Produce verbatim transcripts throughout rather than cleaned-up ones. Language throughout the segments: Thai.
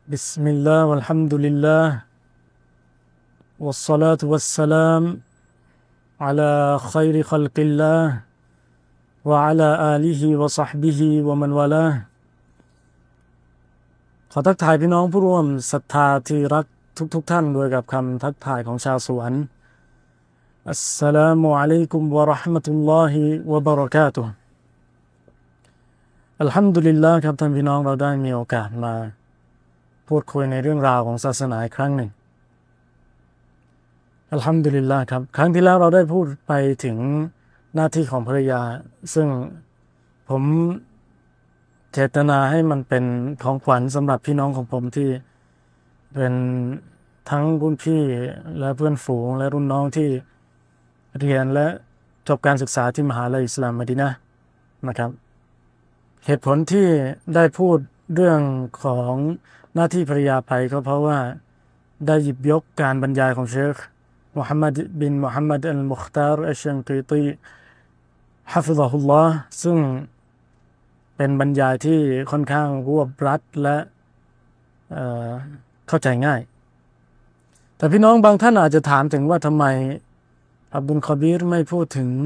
بسم الله والحمد لله والصلاة والسلام على خير خلق الله وعلى آله وصحبه ومن والاهขอทักทายพี่น้องผู้ร่วมศรัทธาที่รักทุกๆ ท่านด้วยกับคำทักทายของชาวสวรรค์อัสสลามุอะลัยกุมวะเราะห์มะตุลลอฮิวะบะเราะกาตุฮ์อัลฮัมดุลิลลาห์ครับท่านพี่น้องเราได้มีโอกาสมาพูดคุยในเรื่องราวของศาสนาอีกครั้งหนึ่งอัลฮัมดุลิลลาห์ครับครั้งที่แล้วเราได้พูดไปถึงหน้าที่ของภรรยาซึ่งผมเจตนาให้มันเป็นของขวัญสำหรับพี่น้องของผมที่เป็นทั้งรุ่นพี่และเพื่อนฝูงและรุ่นน้องที่เรียนและจบการศึกษาที่มหาวิทยาลัยอิสลามมะดีนะห์นะครับเหตุผลที่ได้พูดเรื่องของหน้าที่ภรรยาไปก็เพราะว่าได้หยิบยกการบรรยายของเชคมุฮัมมัดบินมุฮัมมัดอัลมุคตาร์อัชชันกีตีฮะฟิซะฮุลลอฮ์ซึ่งเป็นบรรยายที่ค่อนข้างรวบรัดและเอ่อเข้าใจง่ายแต่พี่น้องบางท่านอาจจะถามถึงว่าทำไมอับดุลคอบีรไม่พูดถึง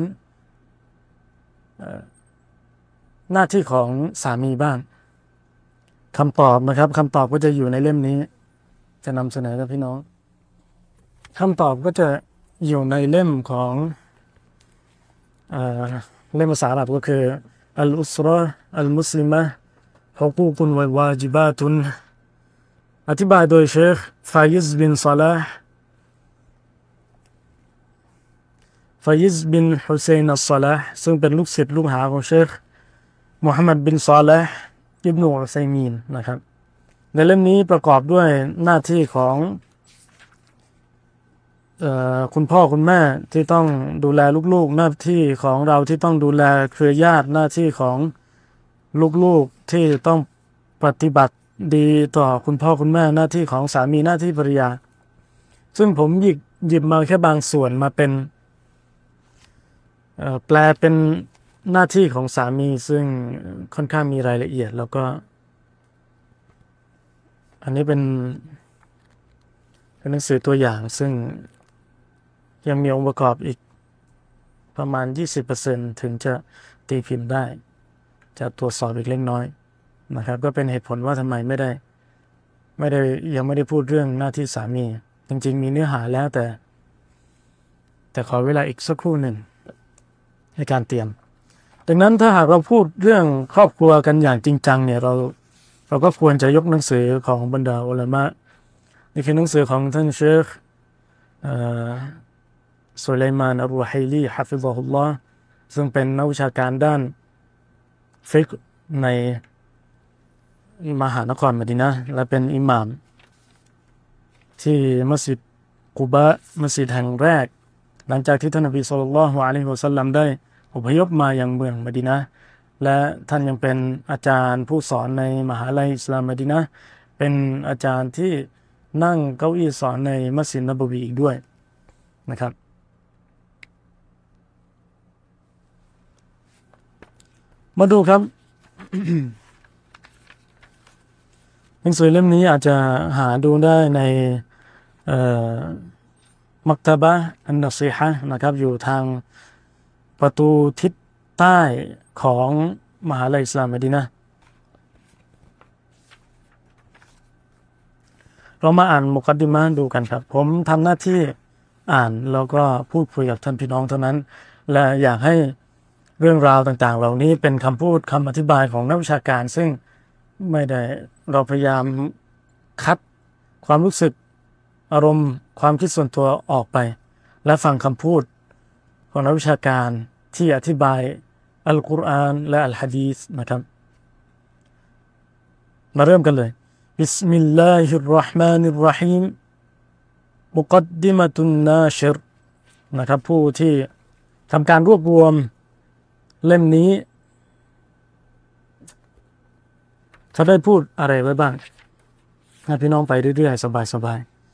หน้าที่ของสามีบ้างคำตอบนะครับคำตอบก็จะอยู่ในเล่มนี้จะนำเสนอกับพี่น้องคำตอบก็จะอยู่ในเล่มของเอ่อเล่มภาษาอาหรับก็คืออัลอุสเราะห์อัลมุสลิมะห์ฮุกูกุนวะวาญิบาตุนอธิบายโดยเชคฟายิซบินซอลาห์ฟายิซบินฮุเซนอัสซอลาห์ซึ่งเป็นลูกศิษย์ลูกหาของเชคมุฮัมมัดบินซอลาห์อิบนุอุซัยมีนนะครับในเล่มนี้ประกอบด้วยหน้าที่ของเอ่อคุณพ่อคุณแม่ที่ต้องดูแลลูกๆหน้าที่ของเราที่ต้องดูแลเครือญาติหน้าที่ของลูกๆที่ต้องปฏิบัติดีต่อคุณพ่อคุณแม่หน้าที่ของสามีหน้าที่ภรรยาซึ่งผมหยิบหยิบมาแค่บางส่วนมาเป็นเอ่อแปลเป็นหน้าที่ของสามีซึ่งค่อนข้างมีรายละเอียดแล้วก็อันนี้เป็นเป็นหนังสือตัวอย่างซึ่งยังมีองค์ประกอบอีกประมาณ ยี่สิบเปอร์เซ็นต์ ถึงจะตีพิมพ์ได้จะตรวจสอบอีกเล็กน้อยนะครับก็เป็นเหตุผลว่าทำไมไม่ได้ไม่ได้ยังไม่ได้พูดเรื่องหน้าที่สามีจริงๆมีเนื้อหาแล้วแต่แต่ขอเวลาอีกสักครู่หนึ่งในการเตรียมดังนั้นถ้าหากเราพูดเรื่องครอบครัวกันอย่างจริงจังเนี่ยเราเราก็ควรจะยกหนังสือของบรรดาอุลามะนี่คือหนังสือของท่านเชคสุไลมานอัลรุไฮลีฮะฟิซะฮุลลอฮ์ซึ่งเป็นนักวิชาการด้านฟิกห์ในมหานครมะดีนะห์และเป็นอิหม่ามที่มัสยิดกุบะมัสยิดแห่งแรกหลังจากที่ท่านนบีศ็อลลัลลอฮุอะลัยฮิวะซัลลัมได้อพยพมายังเมืองมะดีนะห์และท่านยังเป็นอาจารย์ผู้สอนในมหาวิทยาลัยอิสลามมะดีนะห์เป็นอาจารย์ที่นั่งเก้าอี้สอนในมัสยิดนบวีอีกด้วยนะครับมาดูครับ หนังสือเล่มนี้อาจจะหาดูได้ในเอ่อมักตะบะห์อันนัซีฮะห์นะครับอยู่ทางประตูทิศใต้ของมหาวิทยาลัยอิสลามมะดีนะห์เรามาอ่านมุกัดดิมะห์ดูกันครับผมทำหน้าที่อ่านแล้วก็พูดคุยกับท่านพี่น้องเท่านั้นและอยากให้เรื่องราวต่างๆเหล่านี้เป็นคำพูดคำอธิบายของนักวิชาการซึ่งไม่ได้เราพยายามคัดความรู้สึกอารมณ์ความคิดส่วนตัวออกไปและฟังคำพูดของนักวิชาการที่อธิบายอัลกุรอานและอัลหะดีษนะครับมาเริ่มกันเลยบิสมิลลาฮิรเราะห์มานิรเราะฮีมมุกัดดิมะตุนนาชิรนะครับผู้ที่ทำการรวบรวมเล่มนี้เขาได้พูดอะไรไว้บ้างให้พี่น้องไปเรื่อยๆสบาย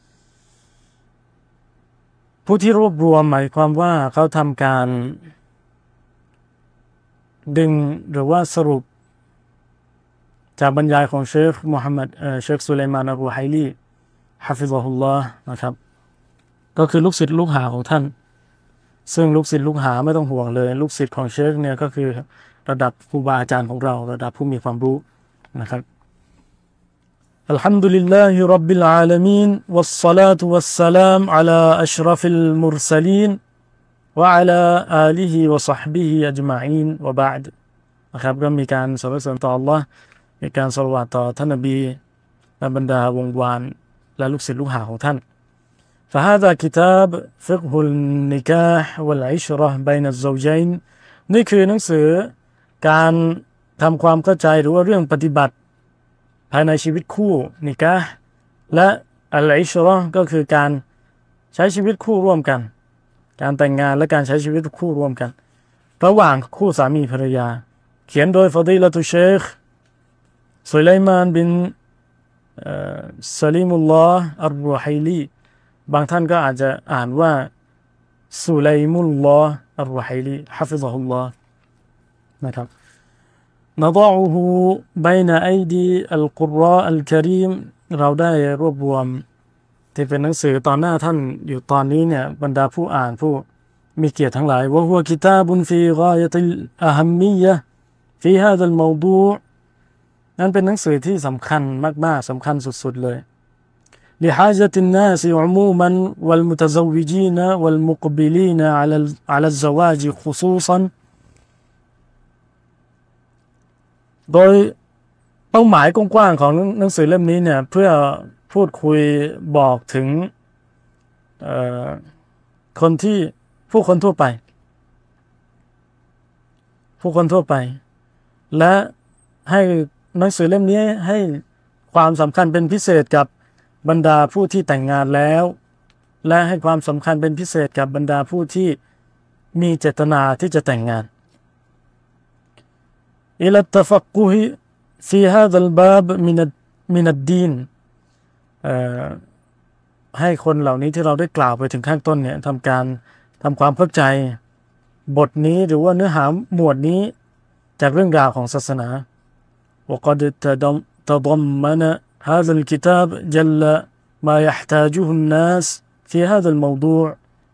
ๆผู้ที่รวบรวมหมายความว่าเขาทำการดึงหรือว่าสรุปจากบรรยายของเชคมูฮัมหมัดเอ่อเชคสุไลมานอัลรูไฮลีฮะฟิซะฮุลลอฮ์นะครับก็คือลูกศิษย์ลูกหาของท่านซึ่งลูกศิษย์ลูกหาไม่ต้องห่วงเลยลูกศิษย์ของเชคเนี่ยก็คือระดับครูบาอาจารย์ของเราระดับผู้มีความรู้นะครับอัลฮัมดุลิลลาฮิร็อบบิลอาลามีนวัสศอลาตุวัสสลามอะลาอัชรฟิลมุรซะลีนวะอะลาอาลิฮิวะศอฮบิฮิอัจมาอีนวะบะอ์ดนะครับก็มีการสรรเสริญต่ออัลเลาะห์มีการศอลาวาตต่อท่านนบีและบรรดาวงวานและลูกศิษย์ลูกหาของท่าน فهذا كتاب فقه النكاح والعشرة بين الزوجين นี่คือหนังสือการทำความเข้าใจหรือว่าเรื่องปฏิบัติภายในชีวิตคู่นิกะห์และอัลอิชเราะห์ก็คือการใช้ชีวิตคู่ร่วมกันการแต่งงานและการใช้ชีวิตคู่ร่วมกันระหว่างคู่สามีภรรยาเขียนโดยฟอดีละตุเชคสุไลมานบินซาลิมุลลอฮ์อัรรูไฮลีบางท่านก็อาจจะอ่านว่าสุไลมุลลอฮ์อัรรูไฮลีฮะฟิซะฮุลลอฮ์นะครับنضعه بين أيدي القراء الكريم เราได้รวบรวมที่เป็นหนังสือตอนหน้าท่านอยู่ตอนนี้เนี่ยบรรดาผู้อ่านผู้มีเกียรติทั้งหลาย وهو كتاب في غاية الأهمية في هذا الموضوع นั้นเป็นหนังสือที่สำคัญมากๆสำคัญสุดๆเลย لحاجة الناس عموما والمتزوجين والمقبلين على على الزواج خصوصا โดยเป้าหมายกว้างๆของหนังสือเล่มนี้เนี่ยเพื่อพูดคุยบอกถึงคนที่ผู้คนทั่วไปผู้คนทั่วไปและให้หนังสือเล่มนี้ให้ความสำคัญเป็นพิเศษกับบรรดาผู้ที่แต่งงานแล้วและให้ความสำคัญเป็นพิเศษกับบรรดาผู้ที่มีเจตนาที่จะแต่งงานإلى التفقه في هذا الباب من من الدين ให้คนเหล่านี้ที่เราได้กล่าวไปถึงข้างต้นเนี่ยทำการทำความเข้าใจบทนี้หรือว่าเนื้อหาหมวดนี้จากเรื่องราวของศาสนา وقد تضمن هذا الكتاب جل ما يحتاجه الناس في هذا الموضوع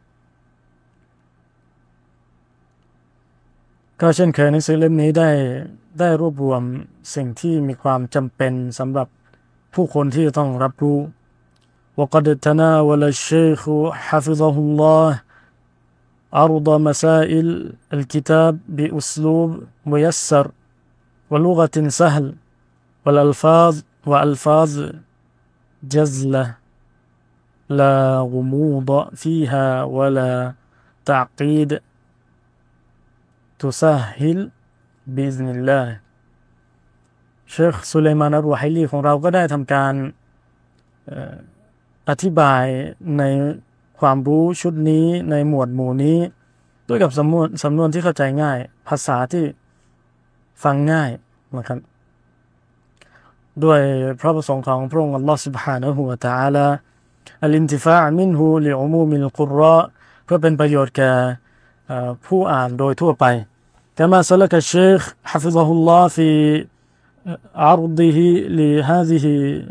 ก็เช่นเคยหนังสือเล่มนี้ได้ได้รวบรวมสิ่งที่มีความจำเป็นสำหรับผู้คนที่ต้องรับรู้ وقد تناول الشيخ حفظه الله عرض مسائل الكتاب بأسلوب ميسر ولغة سهل والألفاظ وألفاظ جزلة لا غموض فيها ولا تعقيد تسهل بإذن الله เชคสุไลมานอัลรูไฮลีของเราก็ได้ทำการอธิบายในความรู้ชุดนี้ในหมวดหมู่นี้ด้วยกับสำนวนสำนวนที่เข้าใจง่ายภาษาที่ฟังง่ายนะครับด้วยพระประสงค์ของพระองค์อัลลอฮฺ سبحانه และ تعالى الانتفاع منه لعموم القراء เพื่อเป็นประโยชน์แก่ผู้อ่านโดยทั่วไปكما سلك الشيخ حفظه الله في عرضه لهذه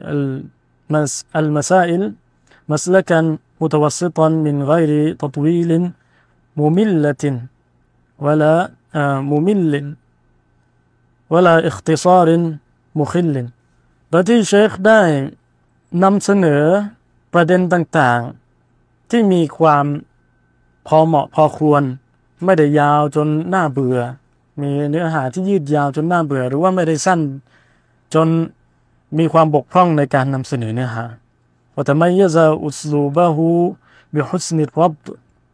المسائل مسلكا متوسطا من غير تطويل مملة ولا ممل ولا اختصار مخل โดยที่เชคได้นำเสนอประเด็นต่างๆที่มีความพอเหมาะพอควรไม่ได้ยาวจนน่าเบื่อมีเนื้อหาที่ยืดยาวจนน่าเบื่อหรือว่าไม่ได้สั้นจนมีความบกพร่องในการนำเสนอเนื้อหา وتميز أسلوبه بحسن الربط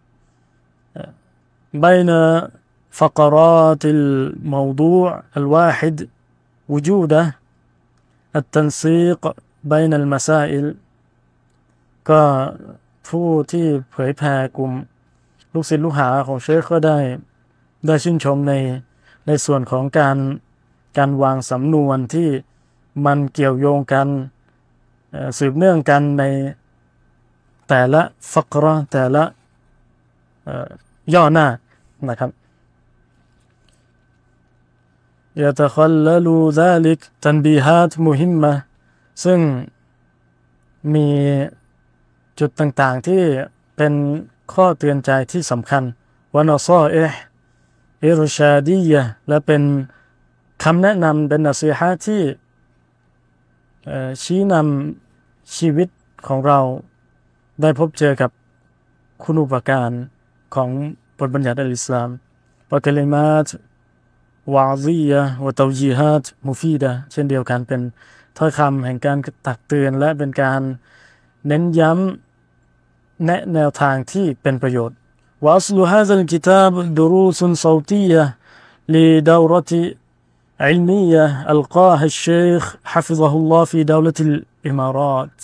بين فقرات الموضوع الواحد وجوده التنسيق بين المسائل ก็ผู้ที่เผยแผ่กลุ่มลูกศิษย์ลูกหาของเชคก็ได้ได้ชื่นชมในในส่วนของการการวางสำนวนที่มันเกี่ยวโยงกันสืบเนื่องกันในแต่ละฟักเราะห์แต่ละย่อหน้านะครับ يتخلل ذلك تنبيهات مهمة ซึ่งมีจุดต่างๆที่เป็นข้อเตือนใจที่สำคัญวะนอซออิห์อิรชาดียะห์และเป็นคำแนะนำเป็นนัสอีฮะห์ที่ชี้นำชีวิตของเราได้พบเจอกับคุณูปการของบทบัญญัติอัลอิสลามวะกะลิมาตวะซียะห์วะตาวญีฮาตมุฟีดะห์เช่นเดียวกันเป็นถ้อยคำแห่งการตักเตือนและเป็นการเน้นย้ำแนะแนวทางที่เป็นประโยชน์วะอัศลุฮาซัลกิตาบดุรูซุนซอตียะห์ลิดาวเราะติ علمية ألقاها الشيخ حفظه الله في دولة الإمارات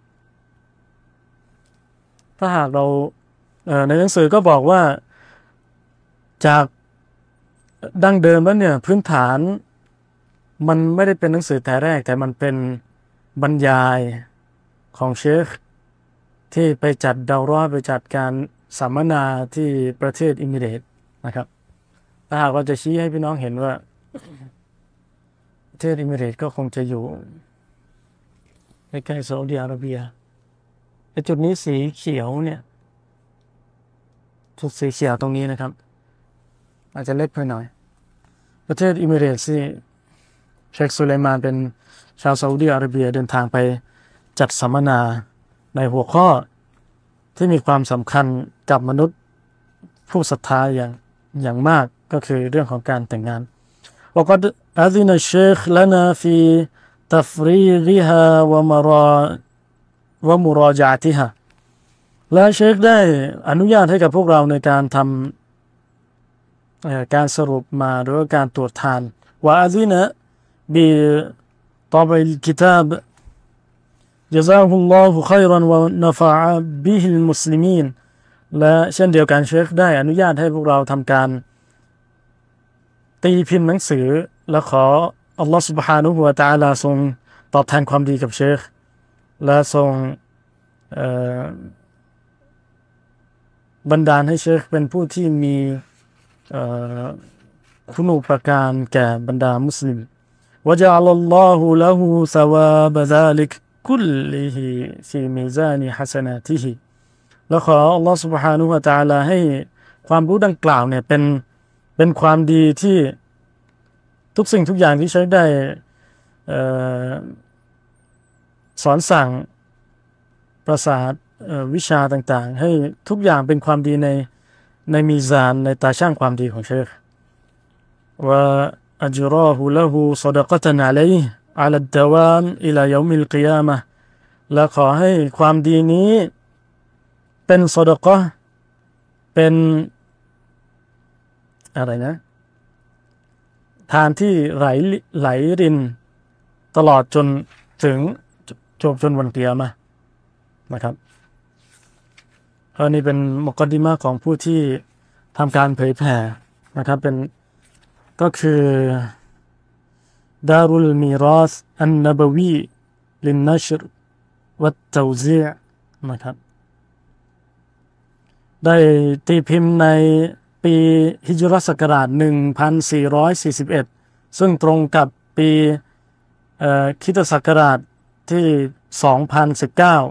ถ้าหากเราในหนังสือก็บอกว่าจากดั้งเดิมแล้วเนี่ยพื้นฐานมันไม่ได้เป็นหนังสือแต่แรกแต่มันเป็นบรรยายของเชคที่ไปจัดดาวราไปจัดการสัมมนาที่ประเทศอิมิเรตส์นะครับถ้าหากเราจะชี้ให้พี่น้องเห็นว่าประเทศอิมิเรตส์ก็คงจะอยู่ใกล้ๆซาอุดิอาระเบียไอ้จุดนี้สีเขียวเนี่ยจุดสีเขียวตรงนี้นะครับอาจจะเล็กไปหน่อยประเทศอิมิเรตส์ที่เชคสุไลมานเป็นชาวซาอุดิอาระเบียเดินทางไปจัดสัมมนาในหัวข้อที่มีความสำคัญกับมนุษย์ผู้ศรัทธาอย่างอย่างมากก็คือเรื่องของการแต่งงานوقد أذن الشيخ لنا في تفريغها ومرا ومراجعتها และเชคได้อนุญาตให้กับพวกเราในการทำการสรุปมาหรือว่าการตรวจทานوأذن بطبع الكتاب جزاه الله خيرا ونفع به المسلمين และเช่นเดียวกันเชคได้อนุญาตให้พวกเราทำการตีพิมพ์หนังสือและขออัลลอฮฺ سبحانه และ تعالى ทรงตอบแทนความดีกับเชคและทรงบันดาลให้เชคเป็นผู้ที่มีคุณูปการแก่บรรดามุสลิมوجعل الله له ثواب ذلك كله في ميزان حسناته และขออัลลอฮฺ سبحانه และ تعالى ให้ความรู้ดังกล่าวเนี่ยเป็นเป็นความดีที่ทุกสิ่งทุกอย่างที่ใช้ได้สอนสั่งประสาทวิชาต่างๆให้ทุกอย่างเป็นความดีในในมีซานในตาช่างความดีของเชคว่าอัจรอฮุละฮูซอดะกะตันอะลัยฮิอะลัดดะวามอิลายอมิลกิยามะห์และขอให้ความดีนี้เป็นซอดะกะห์เป็นอะไรนะทานที่ไหลไหลรินตลอดจนถึงจบจนวันเกียรมานะครับเพราะนี่เป็นมุกอดดิมะห์ของผู้ที่ทำการเผยแผ่นะครับเป็นก็คือดารุลมีราสอันนบวีลินนัชรวัตเตาซีอ์นะครับได้ตีพิมพ์ในปีฮิจรัสศักราชหนึ่งพันสี่ร้อยสี่สิบเอ็ดซึ่งตรงกับปีคริสตศักราชที่สองพันสิบเก้า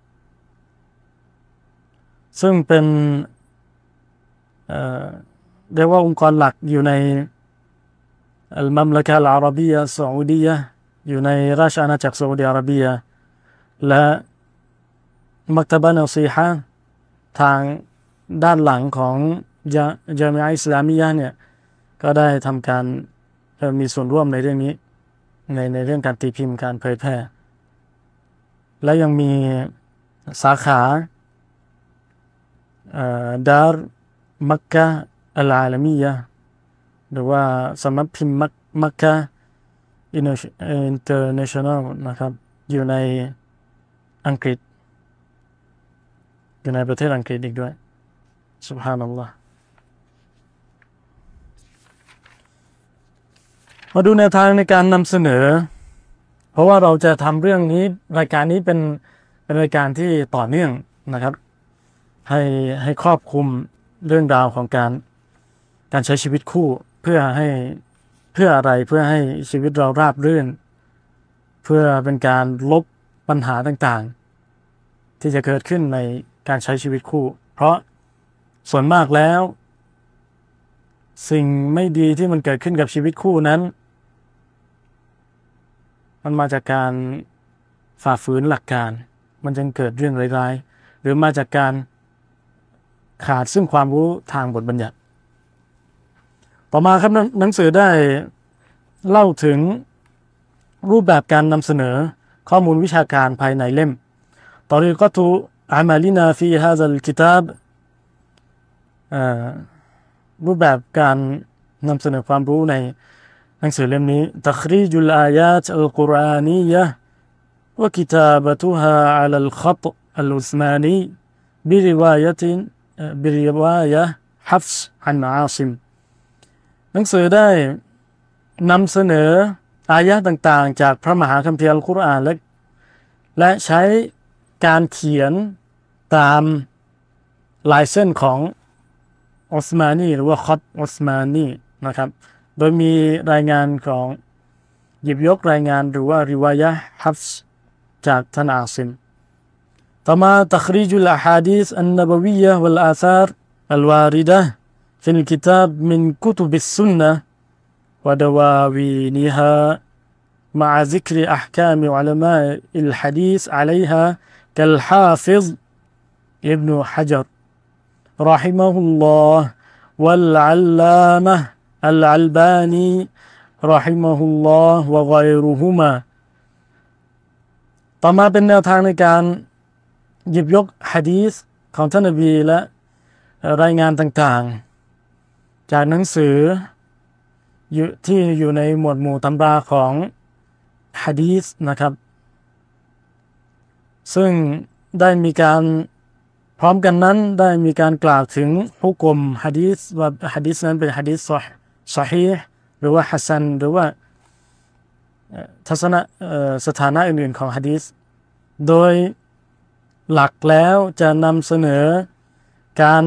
ซึ่งเป็นเอ่อเรียกว่าองค์กรหลักอยู่ในอัลมัมละกะฮ์อาระบียะห์ซาอุดียะห์อยู่ในราชอาณาจักรซาอุดิอาระเบียและมักตะบะห์นอซีฮะห์ทางด้านหลังของจามิอะห์อิสลามียะห์เนี่ยก็ได้ทำการมีส่วนร่วมในเรื่องนี้ในในเรื่องการตีพิมพ์การเผยแพร่และยังมีสาขาดาร์มักกะฮ์อัลอาลามียะห์หรือว่าสำนักพิมพ์มักกะฮ์อินเตอร์เนชั่นแนลนะครับอยู่ในอังกฤษอยู่ในประเทศอังกฤษอีกด้วยซุบฮานัลลอฮ์มาดูแนวทางในการนำเสนอเพราะว่าเราจะทำเรื่องนี้รายการนี้เป็นเป็นรายการที่ต่อเนื่องนะครับให้ให้ครอบคลุมเรื่องราวของการการใช้ชีวิตคู่เพื่อให้เพื่ออะไรเพื่อให้ชีวิตเราราบรื่นเพื่อเป็นการลบปัญหาต่างๆที่จะเกิดขึ้นในการใช้ชีวิตคู่เพราะส่วนมากแล้วสิ่งไม่ดีที่มันเกิดขึ้นกับชีวิตคู่นั้นมันมาจากการฝ่าฝืนหลักการมันจึงเกิดเรื่องร้ายๆหรือมาจากการขาดซึ่งความรู้ทางบทบัญญัติต่อมาครับหนังสือได้เล่าถึงรูปแบบการนำเสนอข้อมูลวิชาการภายในเล่มตอรีกะตุอามาลินาฟีฮาซัลกิตาบรูปแบบการนำเสนอความรู้ในหนังสือเล่มนี้ตัครีจุลอายาตอัลกุรอานียะวะกิตาบะตุฮาอะลัลขัตอัลอุสมานีบิริวายะตินบิริวายะฮัฟซ์อันอาซิมหนังสือได้นำเสนออายะต่างๆจากพระมหาคัมภีร์อัลกุรอานและและใช้การเขียนตามลายเส้นของอุสมานีหรือว่าคอตอุสมานีนะครับโดยมีรายงานของหยิบยกรายงานหรือว่าริวายะห์ฮัฟซ์จากท่านอาซิมต่อมาตัครีจุลอะฮาดีษอันนบวียะห์วัลอาซาร์อัลวาริดะห์ฟิลกิตาบมินกุตุบิสซุนนะห์วะดาวาวีนิฮาمع ذكر أحكام علماء الحديث عليها كالحافظ ابن حجر رحمه الله والعلامة الألباني رحمه الله وغيرهما ต่อมาเป็นแนวทางในการหยิบยกหะดีษของท่านนบีและรายงานต่างๆจากหนังสือที่อยู่ในหมวดหมู่ตำราของหะดีษนะครับซึ่งได้มีการพร้อมกันนั้นได้มีการกล่าวถึงฮุกมหะดีษว่าหะดีษนั้นเป็นหะดีษซอฮีฮ์หรือว่าฮัสซันหรือว่าทัศนะสถานะอื่นๆของหะดีษโดยหลักแล้วจะนำเสนอการ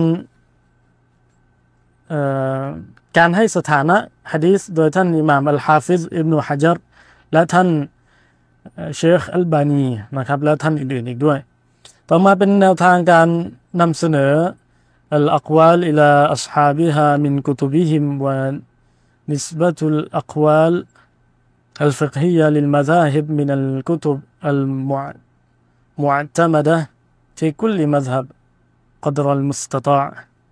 การให้สถานะหะดีษโดยท่านอิหม่ามอัลฮาฟิซอิบนุฮะญัรและท่านเชคอัลบานีนะครับและท่านอื่นๆอีกด้วยต่อมาเป็นแนวทางการนำเสนออัลอักวาลอิลาอัศฮาบิฮามินกุตุบิฮิมวะนิสบะตุลอักวาลอัลฟิกฮียะลิลมะซาฮิบมินัลกุตุบอัลมุอ์ตะมะดะฟิคุลมัซฮับกอดรัลมุสตะฏออ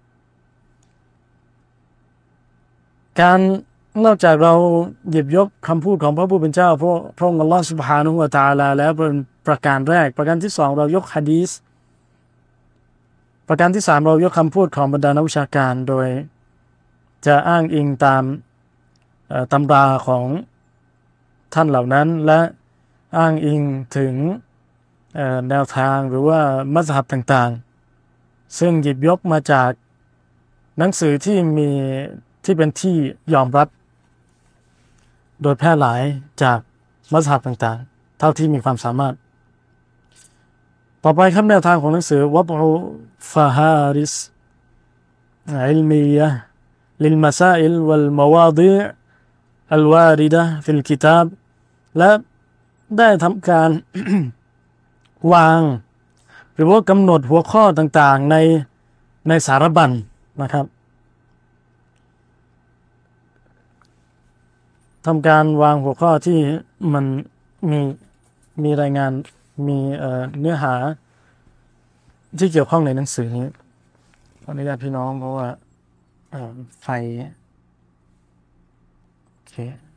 การนอกจากเราหยิบยกคำพูดของพระผู้เป็นเจ้าพระพระองค์อัลลอฮฺซุบฮานะฮูวะตะอาลาแล้วเป็นประการแรกประการที่สองเรายกหะดีษประการที่สามเรายกคำพูดของบรรดานักวิชาการโดยจะอ้างอิงตามตำราของท่านเหล่านั้นและอ้างอิงถึงแนวทางหรือว่ามัซฮับต่างๆซึ่งหยิบยกมาจากหนังสือที่มีที่เป็นที่ยอมรับโดยแพร่หลายจากมัซฮับต่างๆเท่าที่มีความสามารถต่อไปครับแนวทางของหนังสือวับอุฟาฮาริสอิลมียะห์ลิลมาซาอิลวัลมาวาฎิอ์อัลวาริดะห์ฟิลกิตาบและได้ทำการ วางหรือว่ากำหนดหัวข้อต่างๆในในสารบัญนะครับทำการวางหัวข้อที่มันมีมีรายงานมีเอ่อเนื้อหาที่เกี่ยวข้องในหนังสือนี้ขออนุญาตพี่น้องเพราะว่าเอ่อไฟโอเค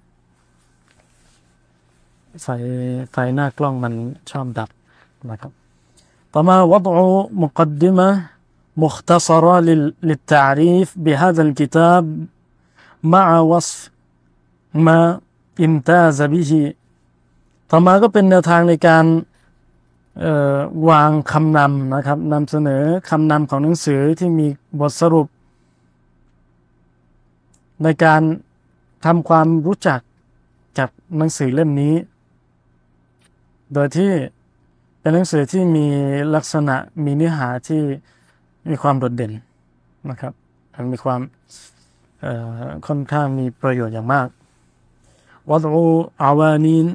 ไฟไฟหน้ากล้องมันชอบดับนะครับต่อมาวัฎอุมุกัดดิมะห์มุคตัศระลิลลิตตะอรีฟบิฮาซัลกิตาบมะอะวัศฟมาอิมตาซะบิฮิต่อมาก็เป็นแนวทางในการวางคำนำนะครับนำเสนอคำนำของหนังสือที่มีบทสรุปในการทำความรู้จักกับหนังสือเล่มนี้โดยที่เป็นหนังสือที่มีลักษณะมีเนื้อหาที่มีความโดดเด่นนะครับมีความค่อนข้างมีประโยชน์อย่างมาก وضع عوانين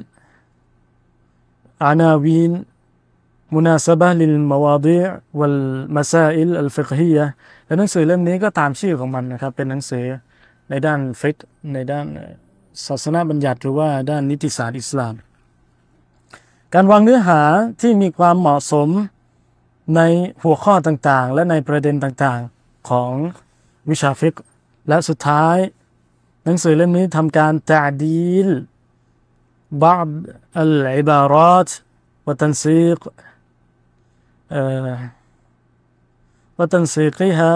عناوين مناسبة للمواضيع والمسائل الفقهية และหนังสือเล่มนี้ก็ตามชื่อของมันนะครับเป็นหนังสือในด้านฟิกห์ในด้านศาสนาบัญญัติหรือว่าด้านนิติศาสตร์อิสลามการวางเนื้อหาที่มีความเหมาะสมในหัวข้อต่างๆและในประเด็นต่างๆของวิชาฟิกห์และสุดท้ายหนังสือเล่มนี้ทำการตะดีลبعض العبارات وتنسيق وتنسيقها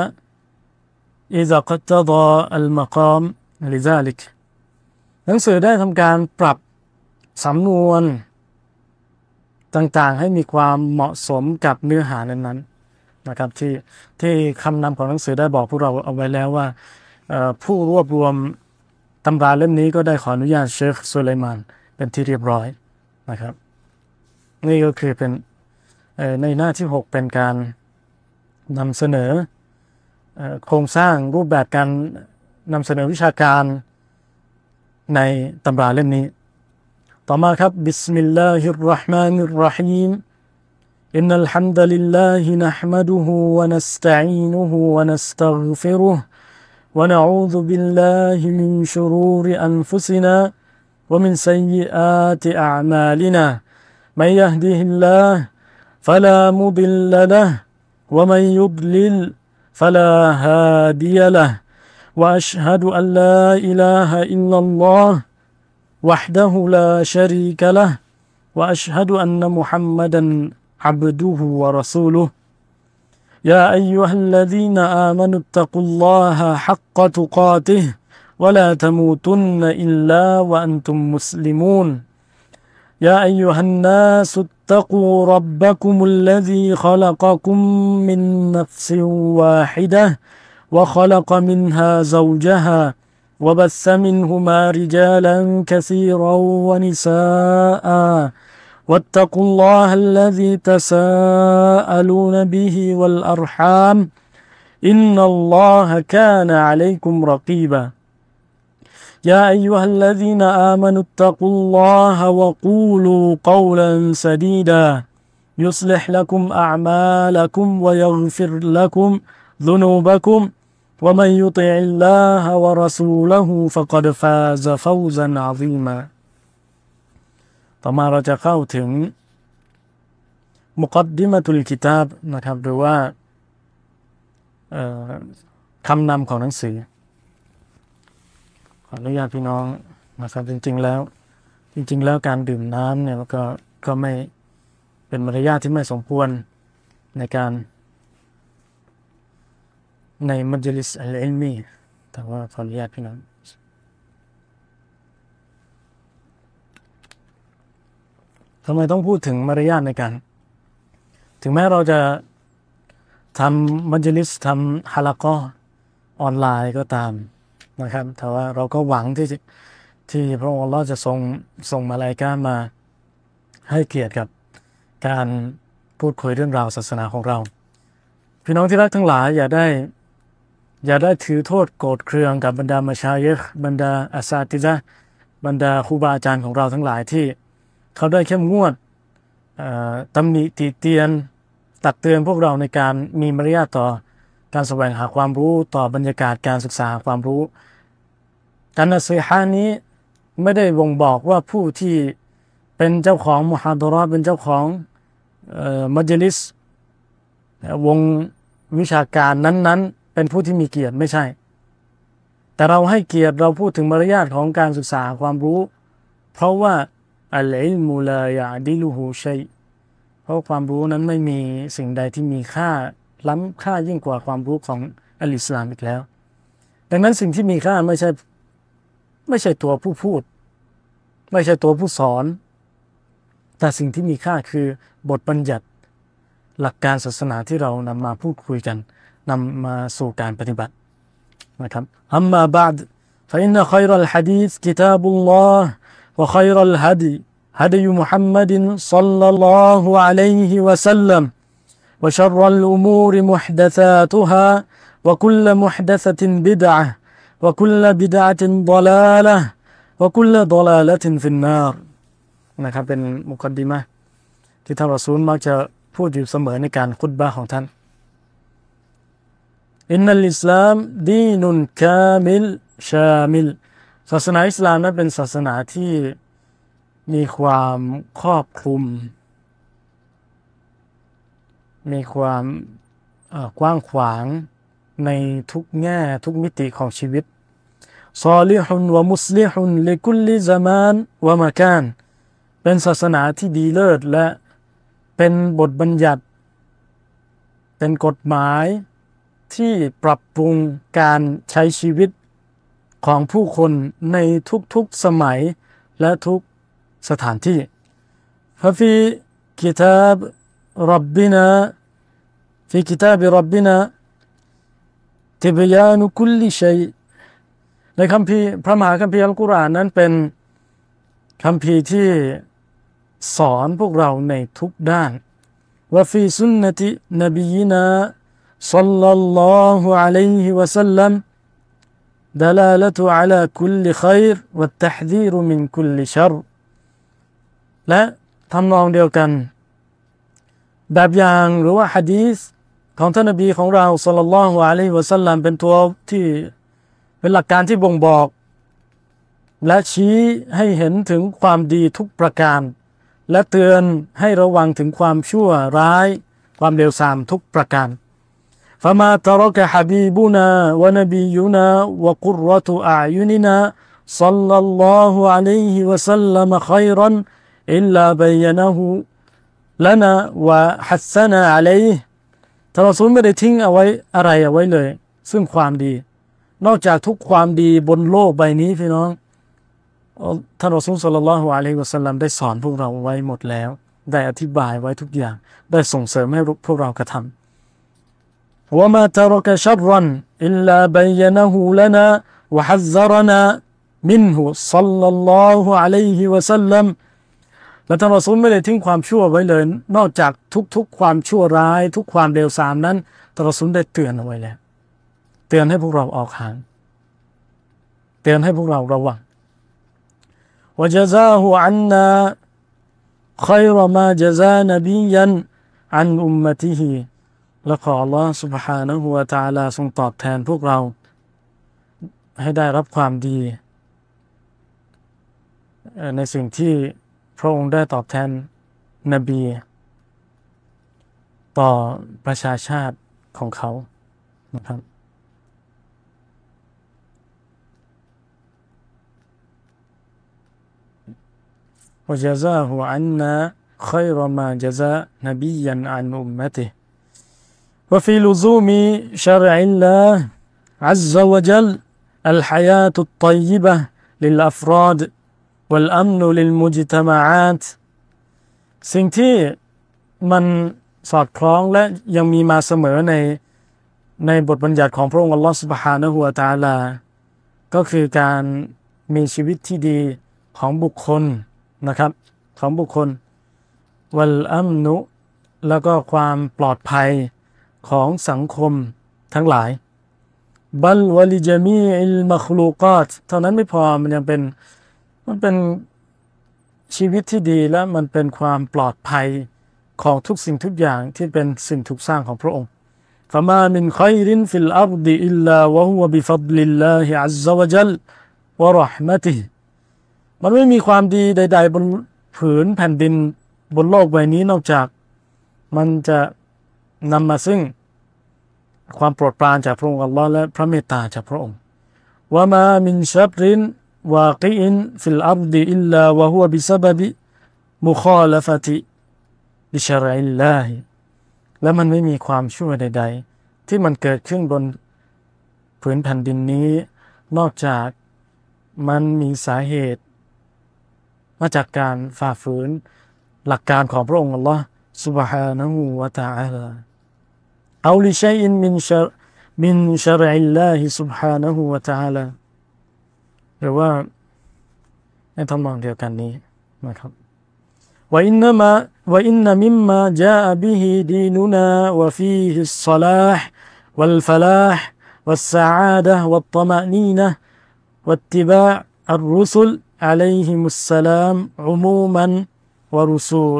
إذا اقتضى المقام لذلك หนังสือได้ทำการปรับสำนวนต่างๆให้มีความเหมาะสมกับเนื้อหานั้นๆนะครับที่ที่คำนำของหนังสือได้บอกพวกเราเอาไว้แล้วว่าผู้รวบรวมตำราเล่มนี้ก็ได้ขออนุญาตเชคซุลัยมานเป็นที่เรียบร้อยนะครับนี่ก็คือเป็นในหน้าที่หกเป็นการนำเสนอโครงสร้างรูปแบบการนำเสนอวิชาการในตำราเล่มนี้ต่อมาครับบิสมิลลาฮิรเราะห์มานิรเราะฮีมอินนัลฮัมดะลิลลาฮินะห์มะดุฮูวะนัสตะอีนุฮูวะนัสตัฆฟิรุฮ์วะนะอูซุบิลลาฮิมินชุรูริอันฟุซินาومن سيئات أعمالنا من يهده الله فلا مضل له ومن يضلل فلا هادي له وأشهد أن لا إله إلا الله وحده لا شريك له وأشهد أن محمدا عبده ورسوله يا أيها الذين آمنوا اتقوا الله حق تقاته ولا تموتن إلا وأنتم مسلمون يا أيها الناس اتقوا ربكم الذي خلقكم من نفس واحدة وخلق منها زوجها وبث منهما رجالا كثيرا ونساء واتقوا الله الذي تساءلون به والأرحام إن الله كان عليكم رقيبا يا أيها الذين آمنوا اتقوا الله وقولوا قولا سديدا يصلح لكم أعمالكم ويغفر لكم ذنوبكم ومن يطع الله ورسوله فقد فاز فوزا عظيما ต่อมาเราจะเข้าถึงมุกัดดิมะตุลกิตาบนะครับหรือว่าคำนำของหนังสือขออนุญาตพี่น้องนะครับจริงๆแล้วจริงๆแล้วการดื่มน้ำเนี่ยก็ก็ไม่เป็นมารยาทที่ไม่สมควรในการในมัจลิสอัลอิลมีแต่ว่าขออนุญาตพี่น้องทำไมต้องพูดถึงมารยาทในการถึงแม้เราจะทำมัจลิสทำฮะละกอออนไลน์ก็ตามนะครับแต่ว่าเราก็หวังที่ที่พระองค์อัลเลาะห์จะทรงส่งมาลาอิกะฮ์มาให้เกียรติกับการพูดคุยเรื่องราวศาสนาของเราพี่น้องที่รักทั้งหลายอย่าได้อย่าได้ถือโทษโกรธเคืองกับบรรดามัชายะห์บรรดาอาซาติซะห์บรรดาครูบาอาจารย์ของเราทั้งหลายที่เขาได้เข้มงวดตำหนิติเตียนตักเตือนพวกเราในการมีมารยาทต่อการแสวงหาความรู้ต่อบรรยากาศการศึกษาความรู้การนัสซีฮะห์นี้ไม่ได้บ่งบอกว่าผู้ที่เป็นเจ้าของมุฮาดะเราะห์เป็นเจ้าของมัจลิสวงวิชาการนั้นๆเป็นผู้ที่มีเกียรติไม่ใช่แต่เราให้เกียรติเราพูดถึงมารยาทของการศึกษาความรู้เพราะว่าอัลอิลมุลายะดิลุฮูชัยเพราะความรู้นั้นไม่มีสิ่งใดที่มีค่าล้ำค่ายิ่งกว่าความรู้ของอัลอิสลามอีกแล้วดังนั้นสิ่งที่มีค่าไม่ใช่ไม่ใช่ตัวผู้พูดไม่ใช่ตัวผู้สอนแต่สิ่งที่มีค่าคือบทบัญญัติหลักการศาสนาที่เรานำมาพูดคุยกันนำมาสู่การปฏิบัตินะครับอัมมาบะดฟะอินนะค็อยรัลหะดีษกิตาบุลลอฮ์วะค็อยรัลฮะดีฮะดีมุฮัมมัดศ็อลลัลลอฮุอะลัยฮิวะซัลลัมوشر الأمور محدثاتها وكل محدثة بدعة وكل بدعة ضلالة วะกุลละฎอลาละตินฟินนารนะครับเป็นมุกอดดิมะห์ที่ท่านรอซูลมักจะพูดอยู่เสมอในการคุตบะห์ของท่านอินนัลอิสลามดีนุนกามิลชามิลศาสนาอิสลามนั้นเป็นศาสนาที่มีความครอบคลุมมีความกว้างขวางในทุกแง่ทุกมิติของชีวิตซอลิฮุนวะมุสลิฮุนลิกุลลิซะมานวะมะกานเป็นศาสนาที่ดีเลิศและเป็นบทบัญญัติเป็นกฎหมายที่ปรับปรุงการใช้ชีวิตของผู้คนในทุกๆสมัยและทุกสถานที่ฟะฟีกิตาบร็อบบินาฟีกิตาบร็อบบินาติบยานุคุลลิชัยในคัมภีร์พระมหาคัมภีร์อัลกุรอานนั้นเป็นคัมภีร์ที่สอนพวกเราในทุกด้านวะฟีซุนนะตินบียินาศ็อลลัลลอฮุอะลัยฮิวะซัลลัมดะลาละตุอะลาคุลลิค็อยรวัตตะห์ซีรุมินคุลลิชัรและทำนองเดียวกันแบบอย่างหรือว่าหะดีษของท่านนบีของเราศ็อลลัลลอฮุอะลัยฮิวะซัลลัมเป็นตัวที่เป็นหลักการที่บ่งบอกและชี้ให้เห็นถึงความดีทุกประการและเตือนให้ระวังถึงความชั่วร้ายความเลวทรามทุกประการฟะมาตะเราะกะฮะบีบุนาวะนบียุนาวะกุรเราะตุอะอ์ยุนินาศ็อลลัลลอฮุอะลัยฮิวะซัลลัมค็อยรันอิลลาบัยนะฮูลานะวะฮัสซะนะอะลัยฮิท่านรอซูลไม่ได้ทิ้งเอาไว้อะไรเอาไว้เลยซึ่งความดีนอกจากทุกความดีบนโลกใบนี้พี่น้องท่านรอซูลศ็อลลัลลอฮุอะลัยฮิวะซัลลัมได้สอนพวกเราไว้หมดแล้วได้อธิบายไว้ทุกอย่างได้ส่งเสริมให้พวกเรากระทำวะมาตะเราะกะชัรรันอิลลาบัยนะฮูลานะวะฮัซซะรนะมินฮุศ็อลลัลลอฮุอะลัยฮิวะซัลลัมและท่านรอซูลไม่ได้ทิ้งความชั่วไว้เลยนอกจากทุกๆความชั่วร้ายทุกความเลวทรามนั้นท่านรอซูลได้เตือนเอาไว้แล้วเตือนให้พวกเราออกห่างเตือนให้พวกเราระวังวะญะซาฮุอันนาค็อยรมาญะซา นบียันอันอุมมะติฮิและขออัลลอฮฺ سبحانه และ تعالى ทรงตอบแทนพวกเราให้ได้รับความดีในสิ่งที่พระองค์ได้ตอบแทนนบีต่อประชาชาติของเขานะครับوجزاه عنا خير ما جزاء نبيا عن أمته وفي لزوم شرع الله عز وجل الحياة الطيبة للأفراد والأمن للمجتمعات สิ่งที่มันสอดคล้องและยังมีมาเสมอในในบทบัญญัติของพระองค์อัลลอฮฺ سبحانه และ تعالى ก็คือการมีชีวิตที่ดีของบุคคลนะครับของบุคคลวัลอัมนุแล้วก็ความปลอดภัยของสังคมทั้งหลายบัลวะลิจามีอิลมัคลูกาตเท่านั้นไม่พอมันยังเป็นมันเป็นชีวิตที่ดีและมันเป็นความปลอดภัยของทุกสิ่งทุกอย่างที่เป็นสิ่งถูกสร้างของพระองค์ฟะมามินค็อยรินฟิลอัรฎิอิลลาวะฮุวะบิฟัฎลิลลาฮิอัซซะวะญัลวะเราะห์มะติฮิมันไม่มีความดีใดๆบนผืนแผ่นดินบนโลกใบนี้นอกจากมันจะนำมาซึ่งความโปรดปรานจากพระองค์อัลลอฮ์และพระเมตตาจากพระองค์วะมามินชัรรินวากิอินฟิลอัรฎิอิลลาวะฮุวะบิซะบะบิมุคอละฟะติลิชะรอิลลาฮิและมันไม่มีความชั่วใดๆที่มันเกิดขึ้นบนผืนแผ่นดินนี้นอกจากมันมีสาเหตุมาจากการฝ่าฝืนหลักการของพระองค์อัลลอฮ์ سبحانه และ تعالى เอาลิชัยอินมินชะมินชะรอิลลาฮิ سبحانه และ تعالى หรือว่าในทำนองเดียวกันนี้นะครับวะอินนะมาวะอินนะมิมมาจาอะบิฮิดีนุนาวะฟีฮิศศอลาฮ์วัลฟะลาฮ์วัสซะอาดะฮ์วัตตะมะนีนะฮ์วัตติบาอัรรุสุล عليهم السلام عموما ورسول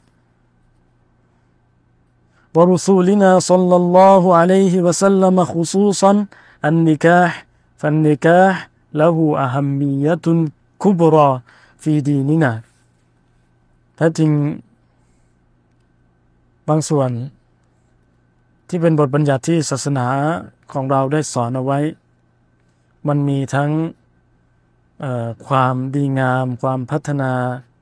ورسولنا صلى الله عليه وسلم خصوصا النكاح فالنكاح له أهمية كبرى في ديننا ถ้าจริงบางส่วนที่เป็นบทบัญญัติที่ศาสนาของเราได้สอนเอาไว้มันมีทั้งความดีงามความพัฒนา